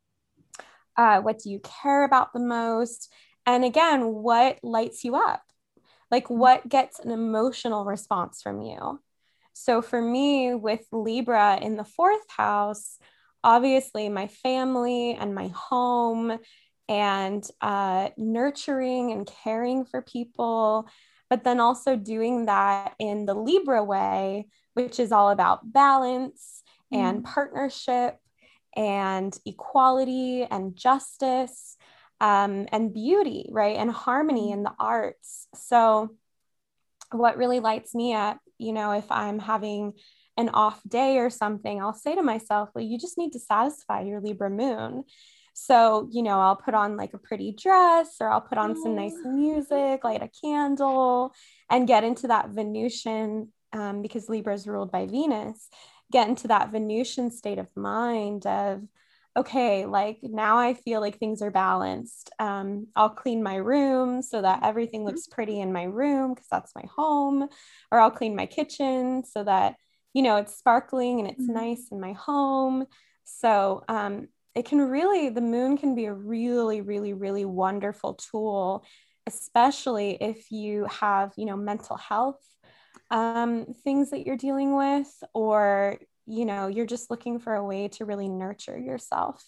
Uh, what do you care about the most? And again, what lights you up? Like what gets an emotional response from you? So for me, with Libra in the fourth house, obviously my family and my home and uh, nurturing and caring for people, but then also doing that in the Libra way, which is all about balance mm. and partnership and equality and justice um, and beauty, right? And harmony in the arts. So what really lights me up, you know, if I'm having an off day or something, I'll say to myself, well, you just need to satisfy your Libra moon. So, you know, I'll put on like a pretty dress or I'll put on some nice music, light a candle, and get into that Venusian, um, because Libra is ruled by Venus, get into that Venusian state of mind of, okay, like now I feel like things are balanced. Um, I'll clean my room so that everything looks pretty in my room because that's my home, or I'll clean my kitchen so that, you know, it's sparkling and it's mm-hmm. nice in my home. So um, it can really, the moon can be a really, really, really wonderful tool, especially if you have, you know, mental health um, things that you're dealing with, or you know, you're just looking for a way to really nurture yourself.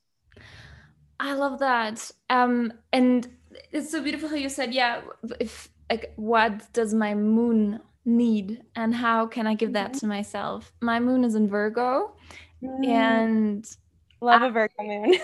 I love that. Um, and it's so beautiful how you said, yeah, if like, what does my moon need and how can I give that mm-hmm. to myself? My moon is in Virgo mm. and love I, a Virgo moon.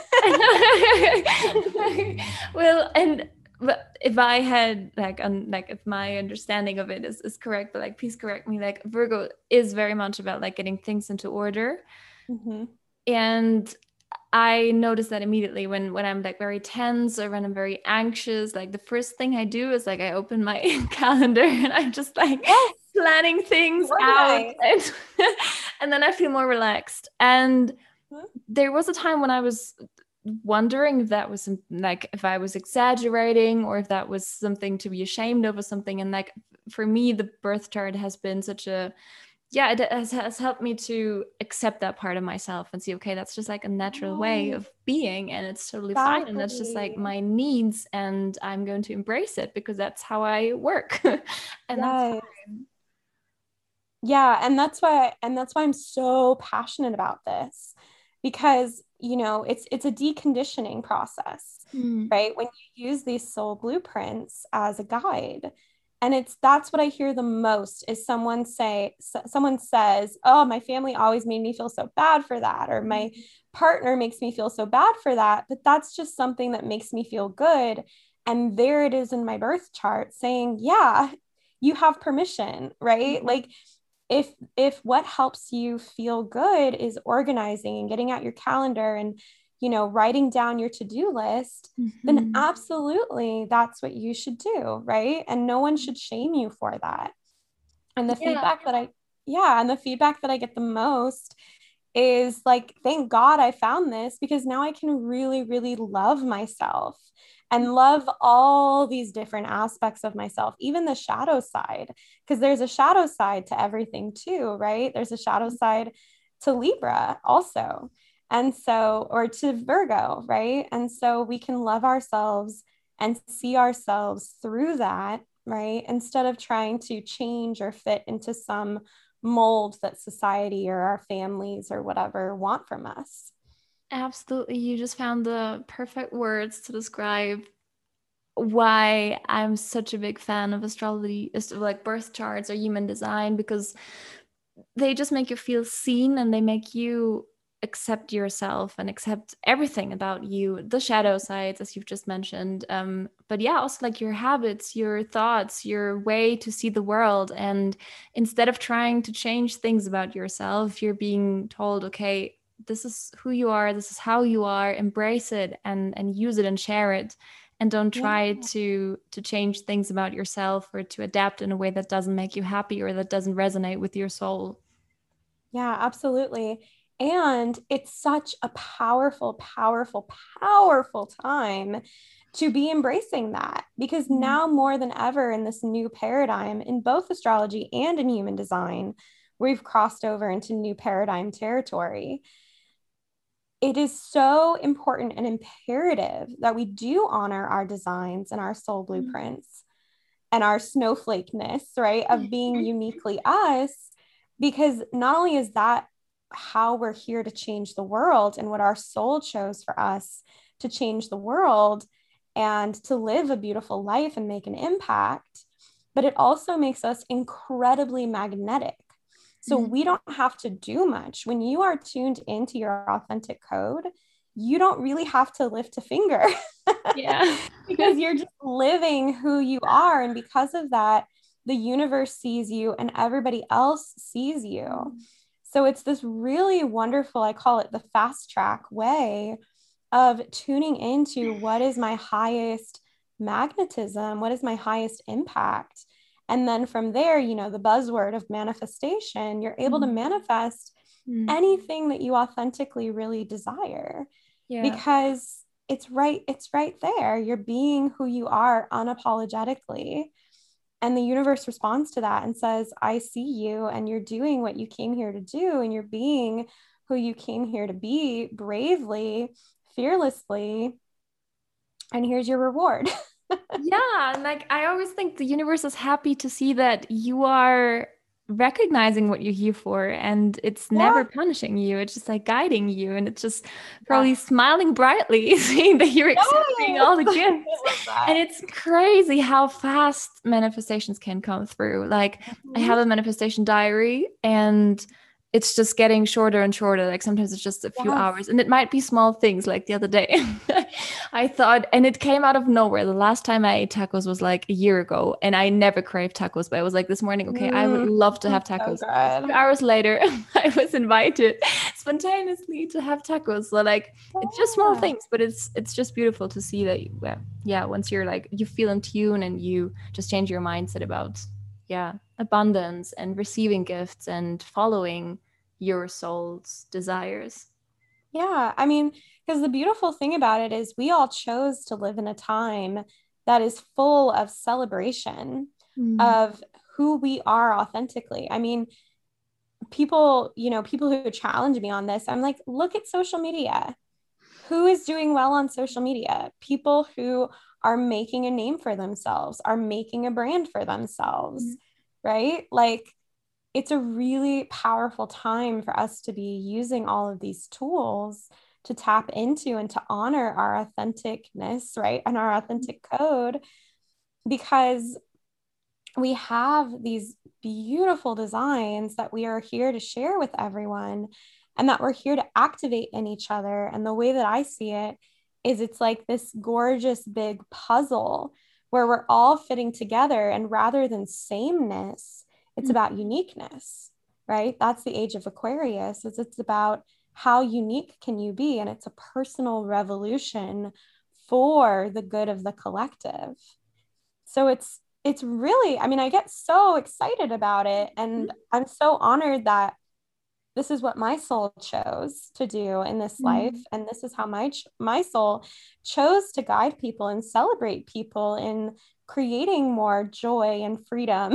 Well, and but if I had like un, like if my understanding of it is, is correct, but like please correct me, like Virgo is very much about like getting things into order. Mm-hmm. And I notice that immediately when when I'm like very tense or when I'm very anxious, like the first thing I do is like I open my calendar and I'm just like yes. planning things out and, and then I feel more relaxed. And mm-hmm. there was a time when I was wondering if that was like if I was exaggerating or if that was something to be ashamed of or something. And like for me, the birth chart has been such a yeah, it has, has helped me to accept that part of myself and see, okay, that's just like a natural way of being and it's totally exactly. fine. And that's just like my needs and I'm going to embrace it because that's how I work. and yes. that's fine. Yeah. And that's why, and that's why I'm so passionate about this because, you know, it's, it's a deconditioning process, mm. right? When you use these soul blueprints as a guide, And it's that's what I hear the most is someone say so, someone says, "Oh, my family always made me feel so bad for that," or "My partner makes me feel so bad for that." But that's just something that makes me feel good. And there it is in my birth chart saying, "Yeah, you have permission," right? Mm-hmm. Like if if what helps you feel good is organizing and getting out your calendar and, you know, writing down your to-do list, mm-hmm. then absolutely that's what you should do, right? And no one should shame you for that. And the yeah. feedback that I, yeah, and the feedback that I get the most is like, thank God I found this, because now I can really, really love myself and love all these different aspects of myself, even the shadow side, because there's a shadow side to everything too, right? There's a shadow side to Libra also. And so, or to Virgo, right? And so we can love ourselves and see ourselves through that, right? Instead of trying to change or fit into some mold that society or our families or whatever want from us. Absolutely. You just found the perfect words to describe why I'm such a big fan of astrology, like birth charts or human design, because they just make you feel seen and they make you accept yourself and accept everything about you, the shadow sides, as you've just mentioned. Um, but yeah, also like your habits, your thoughts, your way to see the world. And instead of trying to change things about yourself, you're being told, okay, this is who you are, this is how you are, embrace it and, and use it and share it. And don't try yeah. to to change things about yourself or to adapt in a way that doesn't make you happy or that doesn't resonate with your soul. Yeah, absolutely. And it's such a powerful, powerful, powerful time to be embracing that, because mm-hmm. now more than ever in this new paradigm in both astrology and in human design, we've crossed over into new paradigm territory. It is so important and imperative that we do honor our designs and our soul blueprints mm-hmm. and our snowflakeness, right, of being uniquely us, because not only is that how we're here to change the world and what our soul chose for us to change the world and to live a beautiful life and make an impact, but it also makes us incredibly magnetic. So mm-hmm. we don't have to do much. When you are tuned into your authentic code, you don't really have to lift a finger. Yeah. Because you're just living who you are. And because of that, the universe sees you and everybody else sees you. Mm-hmm. So it's this really wonderful, I call it the fast track way of tuning into what is my highest magnetism, what is my highest impact. And then from there, you know, the buzzword of manifestation, you're able mm-hmm. to manifest mm-hmm. anything that you authentically really desire. Yeah. Because it's right, it's right there. You're being who you are unapologetically. And the universe responds to that and says, I see you and you're doing what you came here to do. And you're being who you came here to be bravely, fearlessly. And here's your reward. Yeah. And like, I always think the universe is happy to see that you are recognizing what you're here for, and it's yeah. never punishing you. It's just like guiding you, and it's just probably yeah. smiling brightly, seeing that you're accepting yes. all the gifts. And it's crazy how fast manifestations can come through. Like mm-hmm. I have a manifestation diary, and it's just getting shorter and shorter. Like sometimes it's just a few yes. hours, and it might be small things. Like the other day I thought, and it came out of nowhere. The last time I ate tacos was like a year ago, and I never crave tacos, but I was like this morning, okay, mm, I would love to have tacos. So two hours later, I was invited spontaneously to have tacos. So like, yeah. it's just small things, but it's, it's just beautiful to see that, you, yeah, once you're like, you feel in tune and you just change your mindset about yeah, abundance and receiving gifts and following your soul's desires. Yeah, I mean, because the beautiful thing about it is we all chose to live in a time that is full of celebration mm. of who we are authentically. I mean, people, you know, people who challenge me on this, I'm like, look at social media. Who is doing well on social media? People who are making a name for themselves, are making a brand for themselves, mm-hmm. right? Like, it's a really powerful time for us to be using all of these tools to tap into and to honor our authenticness, right? And our authentic code, because we have these beautiful designs that we are here to share with everyone, and that we're here to activate in each other. And the way that I see it is it's like this gorgeous big puzzle where we're all fitting together. And rather than sameness, it's mm-hmm. about uniqueness, right? That's the age of Aquarius. Is it's about how unique can you be? And it's a personal revolution for the good of the collective. So it's it's really, I mean, I get so excited about it. And mm-hmm. I'm so honored that this is what my soul chose to do in this mm-hmm. life. And this is how my, my soul chose to guide people and celebrate people in creating more joy and freedom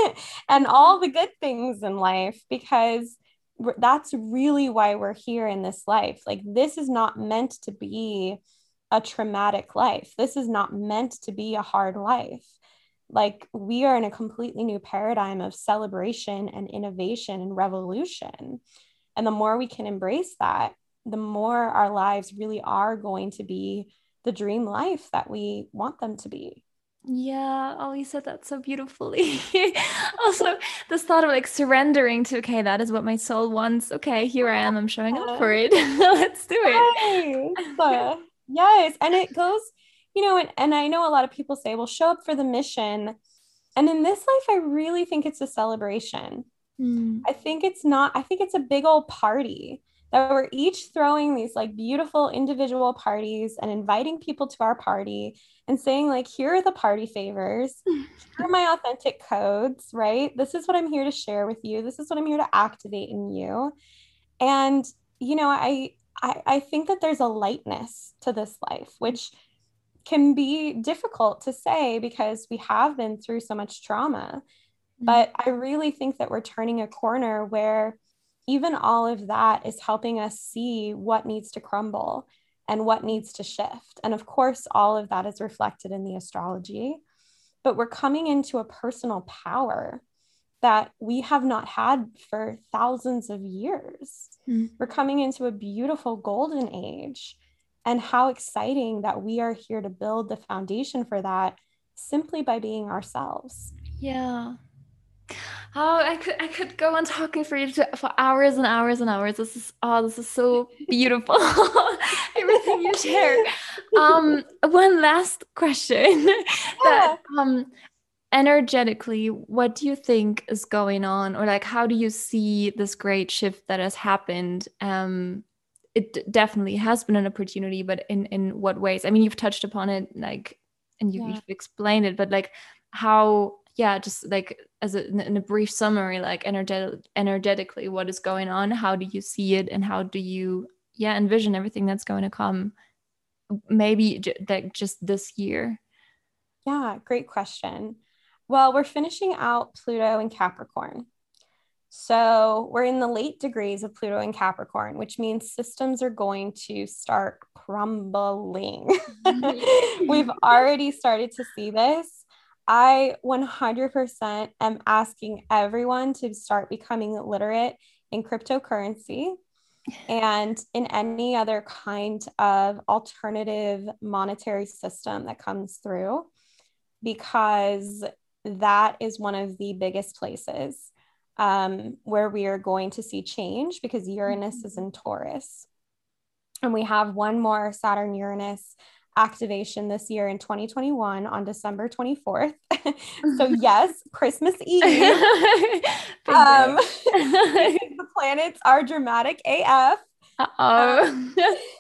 and all the good things in life, because that's really why we're here in this life. Like, this is not meant to be a traumatic life. This is not meant to be a hard life. Like, we are in a completely new paradigm of celebration and innovation and revolution. And the more we can embrace that, the more our lives really are going to be the dream life that we want them to be. Yeah. Oh, you said that so beautifully. Also, this thought of like surrendering to, okay, that is what my soul wants. Okay, here I am. I'm showing up for it. Let's do it. Yes. Yes. And it goes, you know, and, and I know a lot of people say, well, show up for the mission. And in this life, I really think it's a celebration. Mm. I think it's not, I think it's a big old party that we're each throwing these like beautiful individual parties and inviting people to our party and saying like, here are the party favors. Here are my authentic codes, right? This is what I'm here to share with you. This is what I'm here to activate in you. And, you know, I, I, I think that there's a lightness to this life, which can be difficult to say because we have been through so much trauma. Mm-hmm. But I really think that we're turning a corner where even all of that is helping us see what needs to crumble and what needs to shift. And of course, all of that is reflected in the astrology, but we're coming into a personal power that we have not had for thousands of years. Mm-hmm. We're coming into a beautiful golden age. And how exciting that we are here to build the foundation for that simply by being ourselves. Yeah. Oh, I could I could go on talking for you to, for hours and hours and hours. This is oh, this is so beautiful. Everything you share. Um, one last question. Yeah. That um, energetically, what do you think is going on, or like, how do you see this great shift that has happened? Um. It definitely has been an opportunity, but in, in what ways? I mean, you've touched upon it, like, and you, yeah. you've explained it, but like how, yeah, just like as a, in a brief summary, like energetic, energetically, what is going on? How do you see it? And how do you, yeah, envision everything that's going to come maybe j- like just this year? Yeah, great question. Well, we're finishing out Pluto in Capricorn. So we're in the late degrees of Pluto in Capricorn, which means systems are going to start crumbling. We've already started to see this. I one hundred percent am asking everyone to start becoming literate in cryptocurrency and in any other kind of alternative monetary system that comes through, because that is one of the biggest places um, where we are going to see change, because Uranus mm-hmm. is in Taurus. And we have one more Saturn Uranus activation this year in twenty twenty-one on December twenty-fourth. So yes, Christmas Eve. um, the planets are dramatic A F. Uh-oh.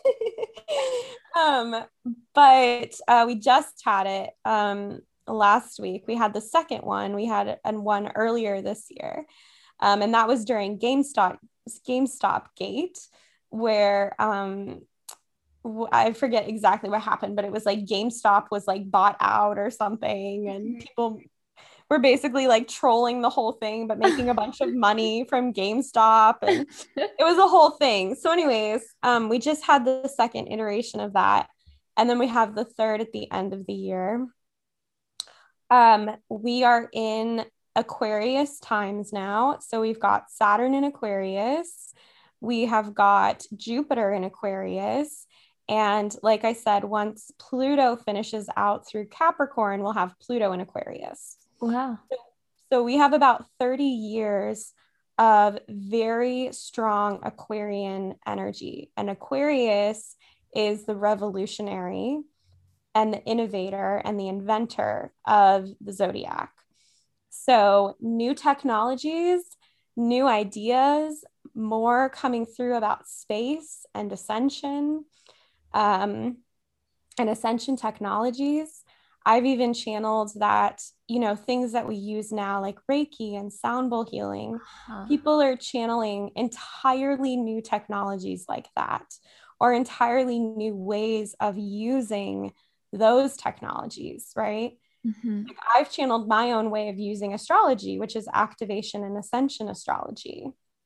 um, but uh, we just had it um, last week. We had the second one. We had and one earlier this year. Um, and that was during GameStop, GameStop Gate, where um, I forget exactly what happened, but it was like GameStop was like bought out or something. And people were basically like trolling the whole thing, but making a bunch of money from GameStop. And it was a whole thing. So anyways, um, we just had the second iteration of that. And then we have the third at the end of the year. Um, we are in Aquarius times now. So we've got Saturn in Aquarius. We have got Jupiter in Aquarius. And like I said, once Pluto finishes out through Capricorn, we'll have Pluto in Aquarius. Wow. So we have about thirty years of very strong Aquarian energy. And Aquarius is the revolutionary and the innovator and the inventor of the zodiac. So new technologies, new ideas, more coming through about space and ascension, um, and ascension technologies. I've even channeled that, you know, things that we use now, like Reiki and sound bowl healing, huh. People are channeling entirely new technologies like that, or entirely new ways of using those technologies, right? Mm-hmm. Like I've channeled my own way of using astrology, which is activation and ascension astrology.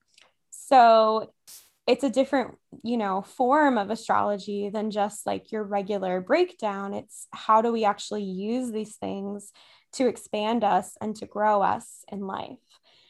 So it's a different, you know, form of astrology than just like your regular breakdown. It's how do we actually use these things to expand us and to grow us in life.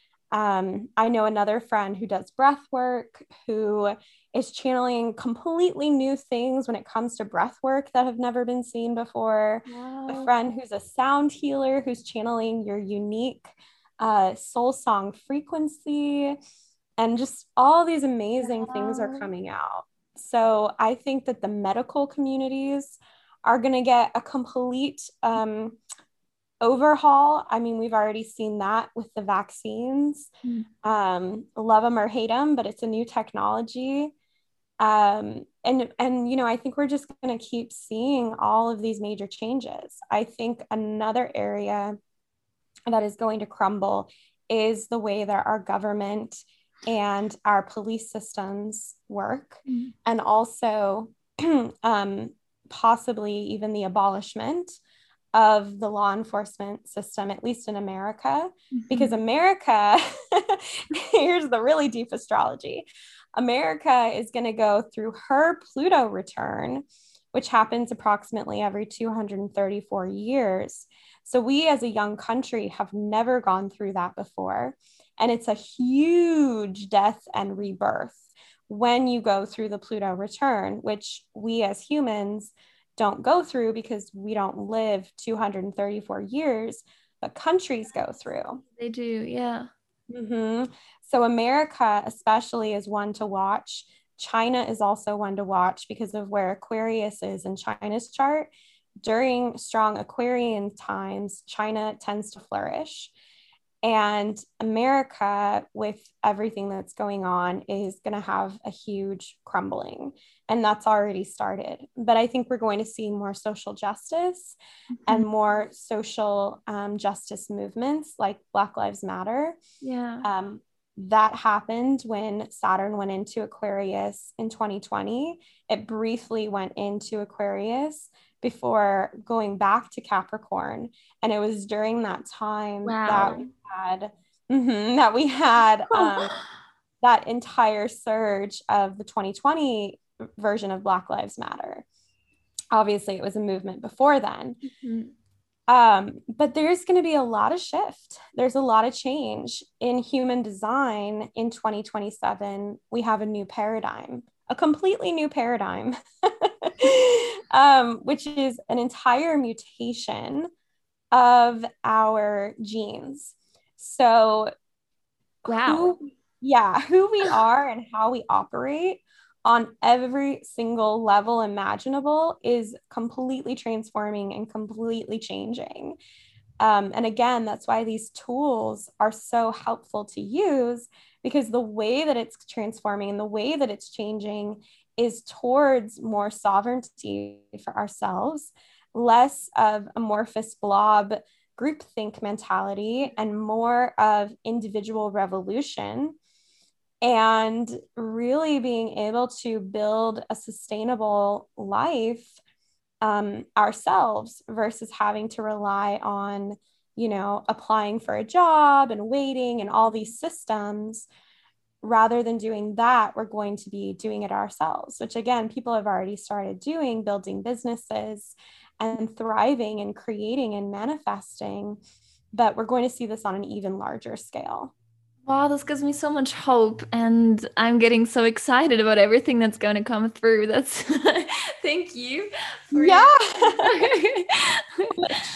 Um, I know another friend who does breath work, who is channeling completely new things when it comes to breath work that have never been seen before. Wow. A friend who's a sound healer, who's channeling your unique uh, soul song frequency. And just all these amazing wow. things are coming out. So I think that the medical communities are going to get a complete um, overhaul. I mean, we've already seen that with the vaccines. Mm. Um, love them or hate them, but it's a new technology. Um, and, and, you know, I think we're just going to keep seeing all of these major changes. I think another area that is going to crumble is the way that our government and our police systems work, mm. and also um, possibly even the abolishment of the law enforcement system, at least in America, mm-hmm. because America, here's the really deep astrology. America is going to go through her Pluto return, which happens approximately every two hundred thirty-four years. So we as a young country have never gone through that before. And it's a huge death and rebirth when you go through the Pluto return, which we as humans don't go through because we don't live two hundred thirty-four years, but countries go through. They do, yeah. Mm-hmm. So America especially is one to watch. China is also one to watch because of where Aquarius is in China's chart. During strong Aquarian times, China tends to flourish. And America, with everything that's going on, is going to have a huge crumbling. And that's already started. But I think we're going to see more social justice mm-hmm. and more social um, justice movements like Black Lives Matter. Yeah. Um, that happened when Saturn went into Aquarius in twenty twenty. It briefly went into Aquarius before going back to Capricorn. And it was during that time wow. that we had, mm-hmm, that we had um, that entire surge of the twenty twenty version of Black Lives Matter. Obviously, it was a movement before then. Mm-hmm. Um, but there's going to be a lot of shift. There's a lot of change in human design in twenty twenty-seven. We have a new paradigm, a completely new paradigm, um, which is an entire mutation of our genes. So, wow. Who, yeah, who we are and how we operate on every single level imaginable is completely transforming and completely changing. Um, and again, that's why these tools are so helpful to use, because the way that it's transforming and the way that it's changing is towards more sovereignty for ourselves, less of amorphous blob groupthink mentality, and more of individual revolution, and really being able to build a sustainable life um, ourselves versus having to rely on, you know, applying for a job and waiting and all these systems. Rather than doing that, we're going to be doing it ourselves, which again, people have already started doing, building businesses and thriving and creating and manifesting. But we're going to see this on an even larger scale. Wow, this gives me so much hope, and I'm getting so excited about everything that's going to come through. That's thank you. For yeah. Shift.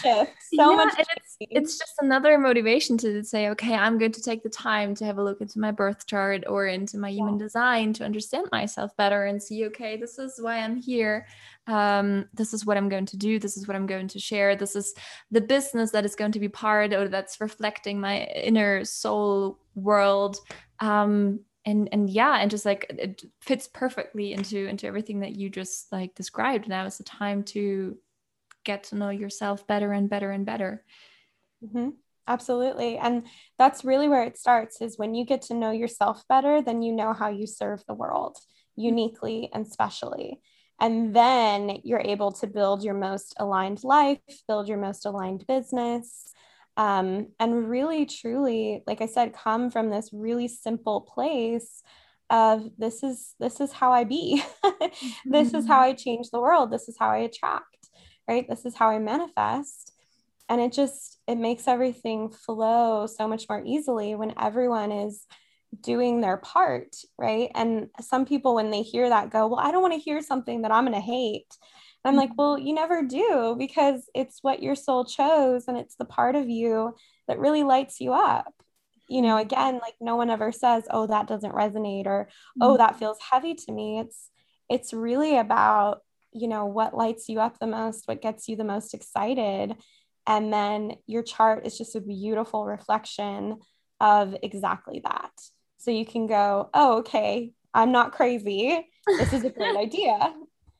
so yeah, much and it's change. it's just another motivation to say, okay, I'm going to take the time to have a look into my birth chart or into my human Yeah. design to understand myself better and see, okay, this is why I'm here. Um, this is what I'm going to do. This is what I'm going to share. This is the business that is going to be part or that's reflecting my inner soul world. Um, and and yeah, and just like it fits perfectly into into everything that you just like described. Now is the time to get to know yourself better and better and better. Mm-hmm. Absolutely. And that's really where it starts is when you get to know yourself better, then you know how you serve the world uniquely and specially. And then you're able to build your most aligned life, build your most aligned business, um, and really, truly, like I said, come from this really simple place of this is this is how I be. This is how I change the world. This is how I attract, right? This is how I manifest. And it just it makes everything flow so much more easily when everyone is doing their part, right? And some people when they hear that go, well, I don't want to hear something that I'm going to hate. And I'm like, well, you never do, because it's what your soul chose and it's the part of you that really lights you up. You know, again, like no one ever says, oh, that doesn't resonate, or oh, that feels heavy to me. It's it's really about, you know, what lights you up the most, what gets you the most excited. And then your chart is just a beautiful reflection of exactly that. So you can go, oh, okay, I'm not crazy. This is a great idea.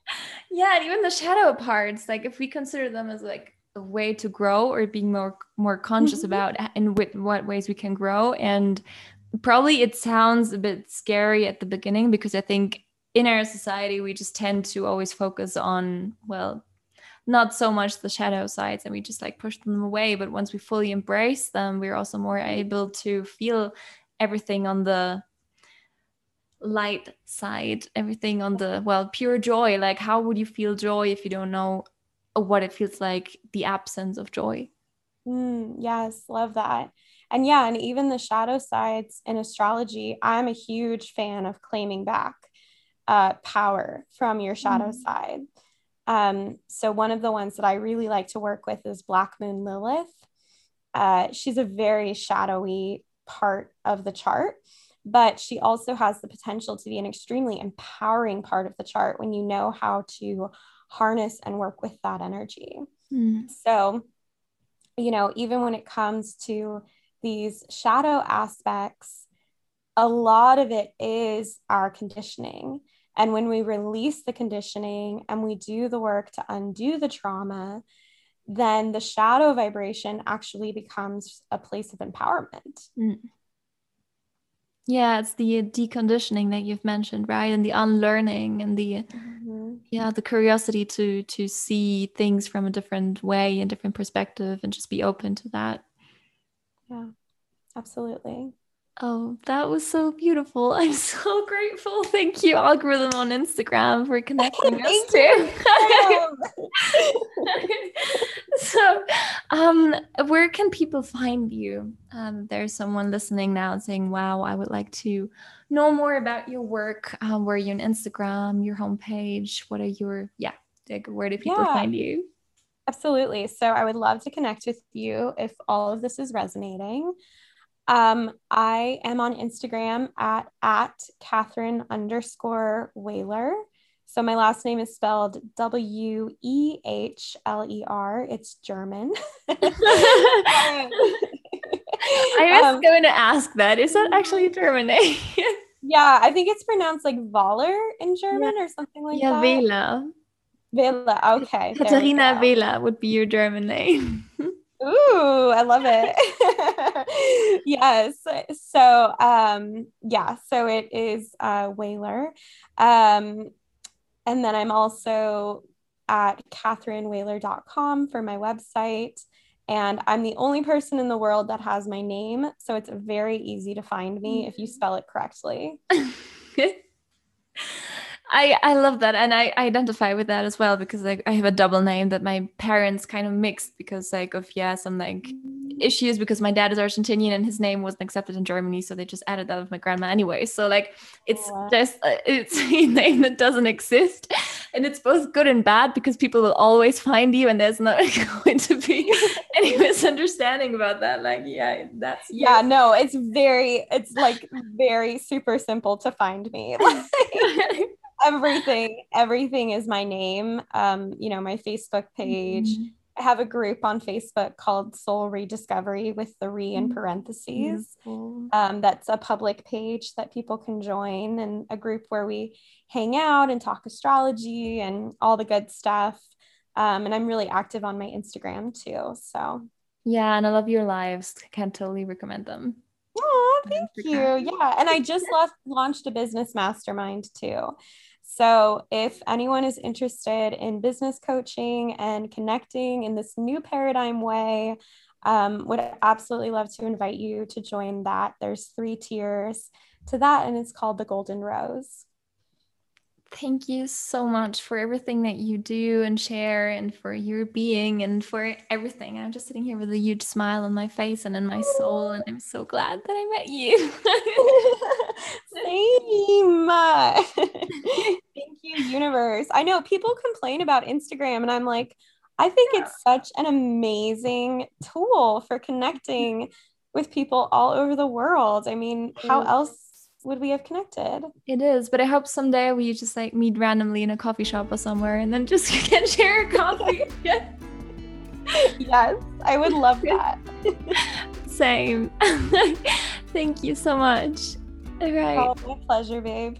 Yeah, and even the shadow parts, like if we consider them as like a way to grow or being more more conscious Mm-hmm. about in with what ways we can grow. And probably it sounds a bit scary at the beginning because I think in our society we just tend to always focus on, well, not so much the shadow sides and we just like push them away. But once we fully embrace them, we're also more able to feel everything on the light side, everything on the, well, pure joy. Like how would you feel joy if you don't know what it feels like, the absence of joy? Mm, yes, love that. And yeah, and even the shadow sides in astrology, I'm a huge fan of claiming back uh, power from your shadow Mm. side. Um, so one of the ones that I really like to work with is Black Moon Lilith. Uh, she's a very shadowy part of the chart, but she also has the potential to be an extremely empowering part of the chart when you know how to harness and work with that energy. Mm. So, you know, even when it comes to these shadow aspects, a lot of it is our conditioning. And when we release the conditioning and we do the work to undo the trauma, then the shadow vibration actually becomes a place of empowerment. Mm. Yeah, it's the deconditioning that you've mentioned, right? And the unlearning and the Mm-hmm. yeah, the curiosity to to see things from a different way and different perspective and just be open to that. Yeah, absolutely. Oh, that was so beautiful. I'm so grateful. Thank you, Algorithm on Instagram, for connecting us Thank you, too. Instagram. So, um, where can people find you? Um, there's someone listening now saying, wow, I would like to know more about your work. Um, where are you on Instagram, your homepage? What are your, yeah, like, where do people Yeah, find you? absolutely. So I would love to connect with you if all of this is resonating. Um, I am on Instagram at at Catherine underscore Wehler. So my last name is spelled W E H L E R. It's German. I um, was um, going to ask that. Is that actually a German name? yeah, I think it's pronounced like Waller in Yeah, German or something like yeah, that. Wähler. Villa. Okay, there we Katharina go. Wähler would be your German name. Ooh, I love it. Yes. So, um, yeah, so it is uh Wehler. Um, and then I'm also at catherine wehler dot com for my website. And I'm the only person in the world that has my name. So it's very easy to find me if you spell it correctly. I I love that, and I identify with that as well because like I have a double name that my parents kind of mixed because like of yeah some like issues because my dad is Argentinian and his name wasn't accepted in Germany, so they just added that with my grandma anyway. So like it's Oh, wow. just uh, it's a name that doesn't exist, and it's both good and bad because people will always find you and there's not going to be any misunderstanding about that. Like, yeah, that's you. Yeah, no, it's very, it's like very super simple to find me. Like, everything, everything is my name. Um, you know, my Facebook page. Mm-hmm. I have a group on Facebook called Soul Rediscovery with the re in parentheses. Um, that's a public page that people can join, and a group where we hang out and talk astrology and all the good stuff. Um, and I'm really active on my Instagram too. So yeah, and I love your lives. I can totally recommend them. oh, thank you. Yeah, and I just left, launched a business mastermind too. So if anyone is interested in business coaching and connecting in this new paradigm way, um, would absolutely love to invite you to join that. There's three tiers to that, and it's called the Golden Rose. Thank you so much for everything that you do and share, and for your being and for everything. I'm just sitting here with a huge smile on my face and in my soul, and I'm so glad that I met you. Same. Thank you, universe. I know people complain about Instagram, and I'm like, I think yeah. it's such an amazing tool for connecting with people all over the world. I mean, how else would we have connected? It is, but I hope someday we just like meet randomly in a coffee shop or somewhere and then just can share a coffee. Yeah. Yes, I would love that. Same. Thank you so much. All right. Oh, my pleasure, babe.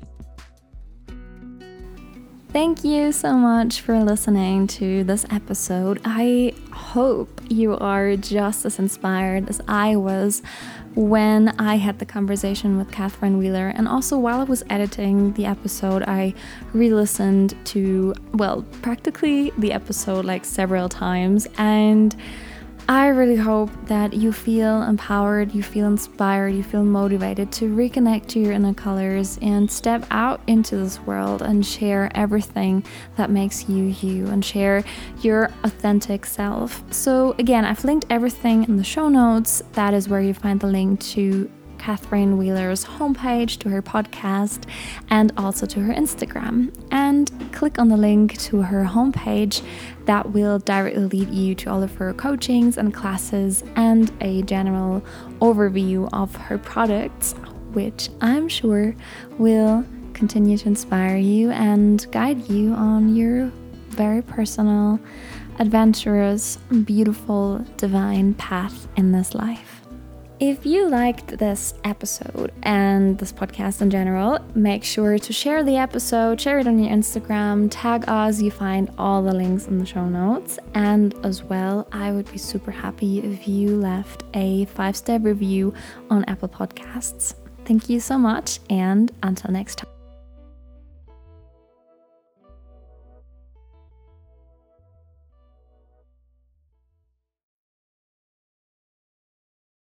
Thank you so much for listening to this episode. I hope you are just as inspired as I was when I had the conversation with Catherine Wheeler. And also while I was editing the episode, I re-listened to, well, practically the episode like several times. And I really hope that you feel empowered, you feel inspired, you feel motivated to reconnect to your inner colors and step out into this world and share everything that makes you you and share your authentic self. So again, I've linked everything in the show notes. That is where you find the link to Catherine Wheeler's homepage, to her podcast, and also to her Instagram. And click on the link to her homepage. That will directly lead you to all of her coachings and classes and a general overview of her products, which I'm sure will continue to inspire you and guide you on your very personal, adventurous, beautiful, divine path in this life. If you liked this episode and this podcast in general, make sure to share the episode, share it on your Instagram, tag us. You find all the links in the show notes. And as well, I would be super happy if you left a five-star review on Apple Podcasts. Thank you so much, and until next time.